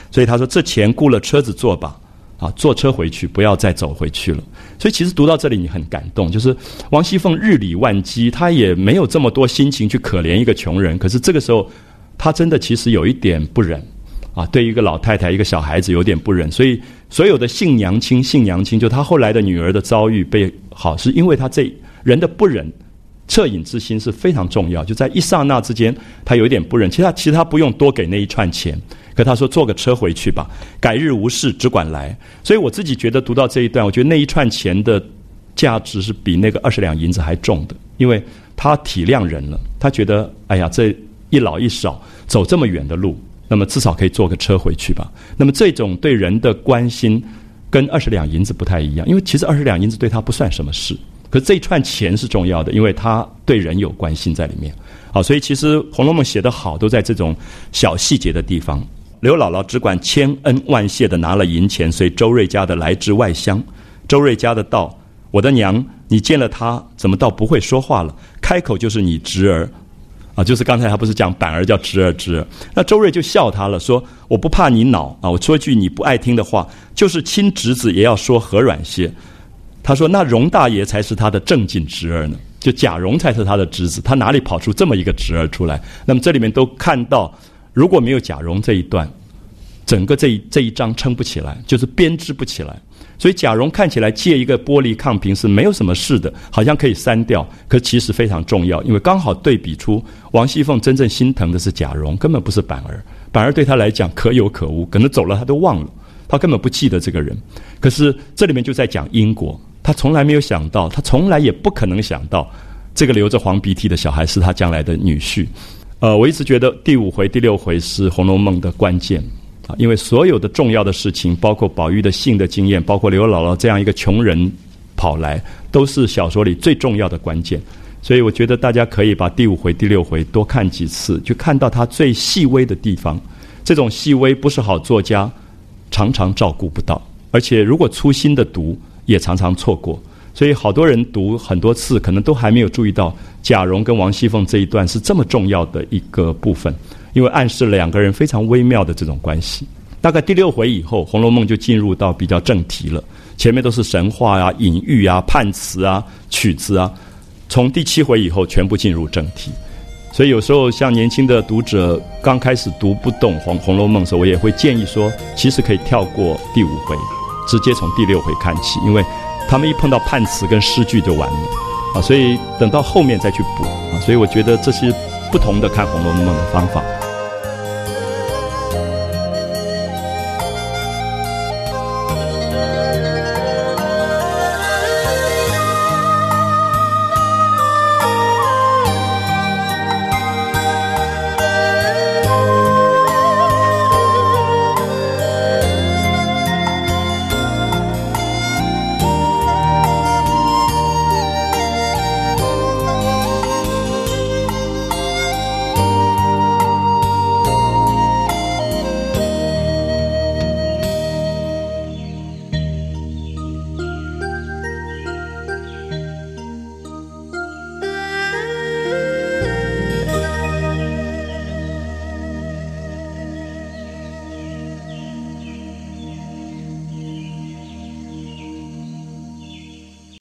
所以他说这钱雇了车子坐吧，啊，坐车回去，不要再走回去了。所以其实读到这里你很感动，就是王熙凤日理万机，她也没有这么多心情去可怜一个穷人，可是这个时候她真的其实有一点不忍啊，对一个老太太一个小孩子有点不忍。所以所有的杏娘亲，就她后来的女儿的遭遇被好，是因为她这人的不忍恻隐之心是非常重要，就在一刹那之间她有一点不忍。其实她不用多给那一串钱，可他说坐个车回去吧，改日无事只管来。所以我自己觉得读到这一段，我觉得那一串钱的价值是比那个20两银子还重的，因为他体谅人了，他觉得哎呀，这一老一少走这么远的路，那么至少可以坐个车回去吧。那么这种对人的关心跟20两银子不太一样，因为其实20两银子对他不算什么事，可是这一串钱是重要的，因为他对人有关心在里面。好，所以其实《红楼梦》写得好都在这种小细节的地方。刘姥姥只管千恩万谢地拿了银钱，随周瑞家的来至外乡。周瑞家的道：“我的娘，你见了他怎么倒不会说话了？开口就是你侄儿啊，就是刚才他不是讲板儿叫侄儿。那周瑞就笑他了，说我不怕你恼啊，我说句你不爱听的话，就是亲侄子也要说和软些。他说那荣大爷才是他的正经侄儿呢，就贾蓉才是他的侄子，他哪里跑出这么一个侄儿出来？那么这里面都看到。如果没有贾蓉这一段，整个这一章撑不起来，就是编织不起来。所以贾蓉看起来借一个玻璃抗瓶是没有什么事的，好像可以删掉，可其实非常重要，因为刚好对比出王熙凤真正心疼的是贾蓉，根本不是板儿。板儿对他来讲可有可无，可能走了他都忘了，他根本不记得这个人。可是这里面就在讲因果，他从来没有想到，他从来也不可能想到，这个流着黄鼻涕的小孩是他将来的女婿。我一直觉得第5回、第6回是《红楼梦》的关键啊，因为所有的重要的事情，包括宝玉的性的经验，包括刘姥姥这样一个穷人跑来，都是小说里最重要的关键。所以我觉得大家可以把第5回、第6回多看几次，就看到它最细微的地方。这种细微不是好作家常常照顾不到，而且如果粗心的读，也常常错过。所以好多人读很多次，可能都还没有注意到贾蓉跟王熙凤这一段是这么重要的一个部分，因为暗示了两个人非常微妙的这种关系。大概第6回以后，《红楼梦》就进入到比较正题了，前面都是神话啊、隐喻啊、判词啊、曲子啊，从第7回以后全部进入正题。所以有时候像年轻的读者刚开始读不懂红楼梦的时候，我也会建议说，其实可以跳过第5回，直接从第6回看起，因为他们一碰到判词跟诗句就完了啊，所以等到后面再去补啊，所以我觉得这是不同的看《红楼梦》的方法。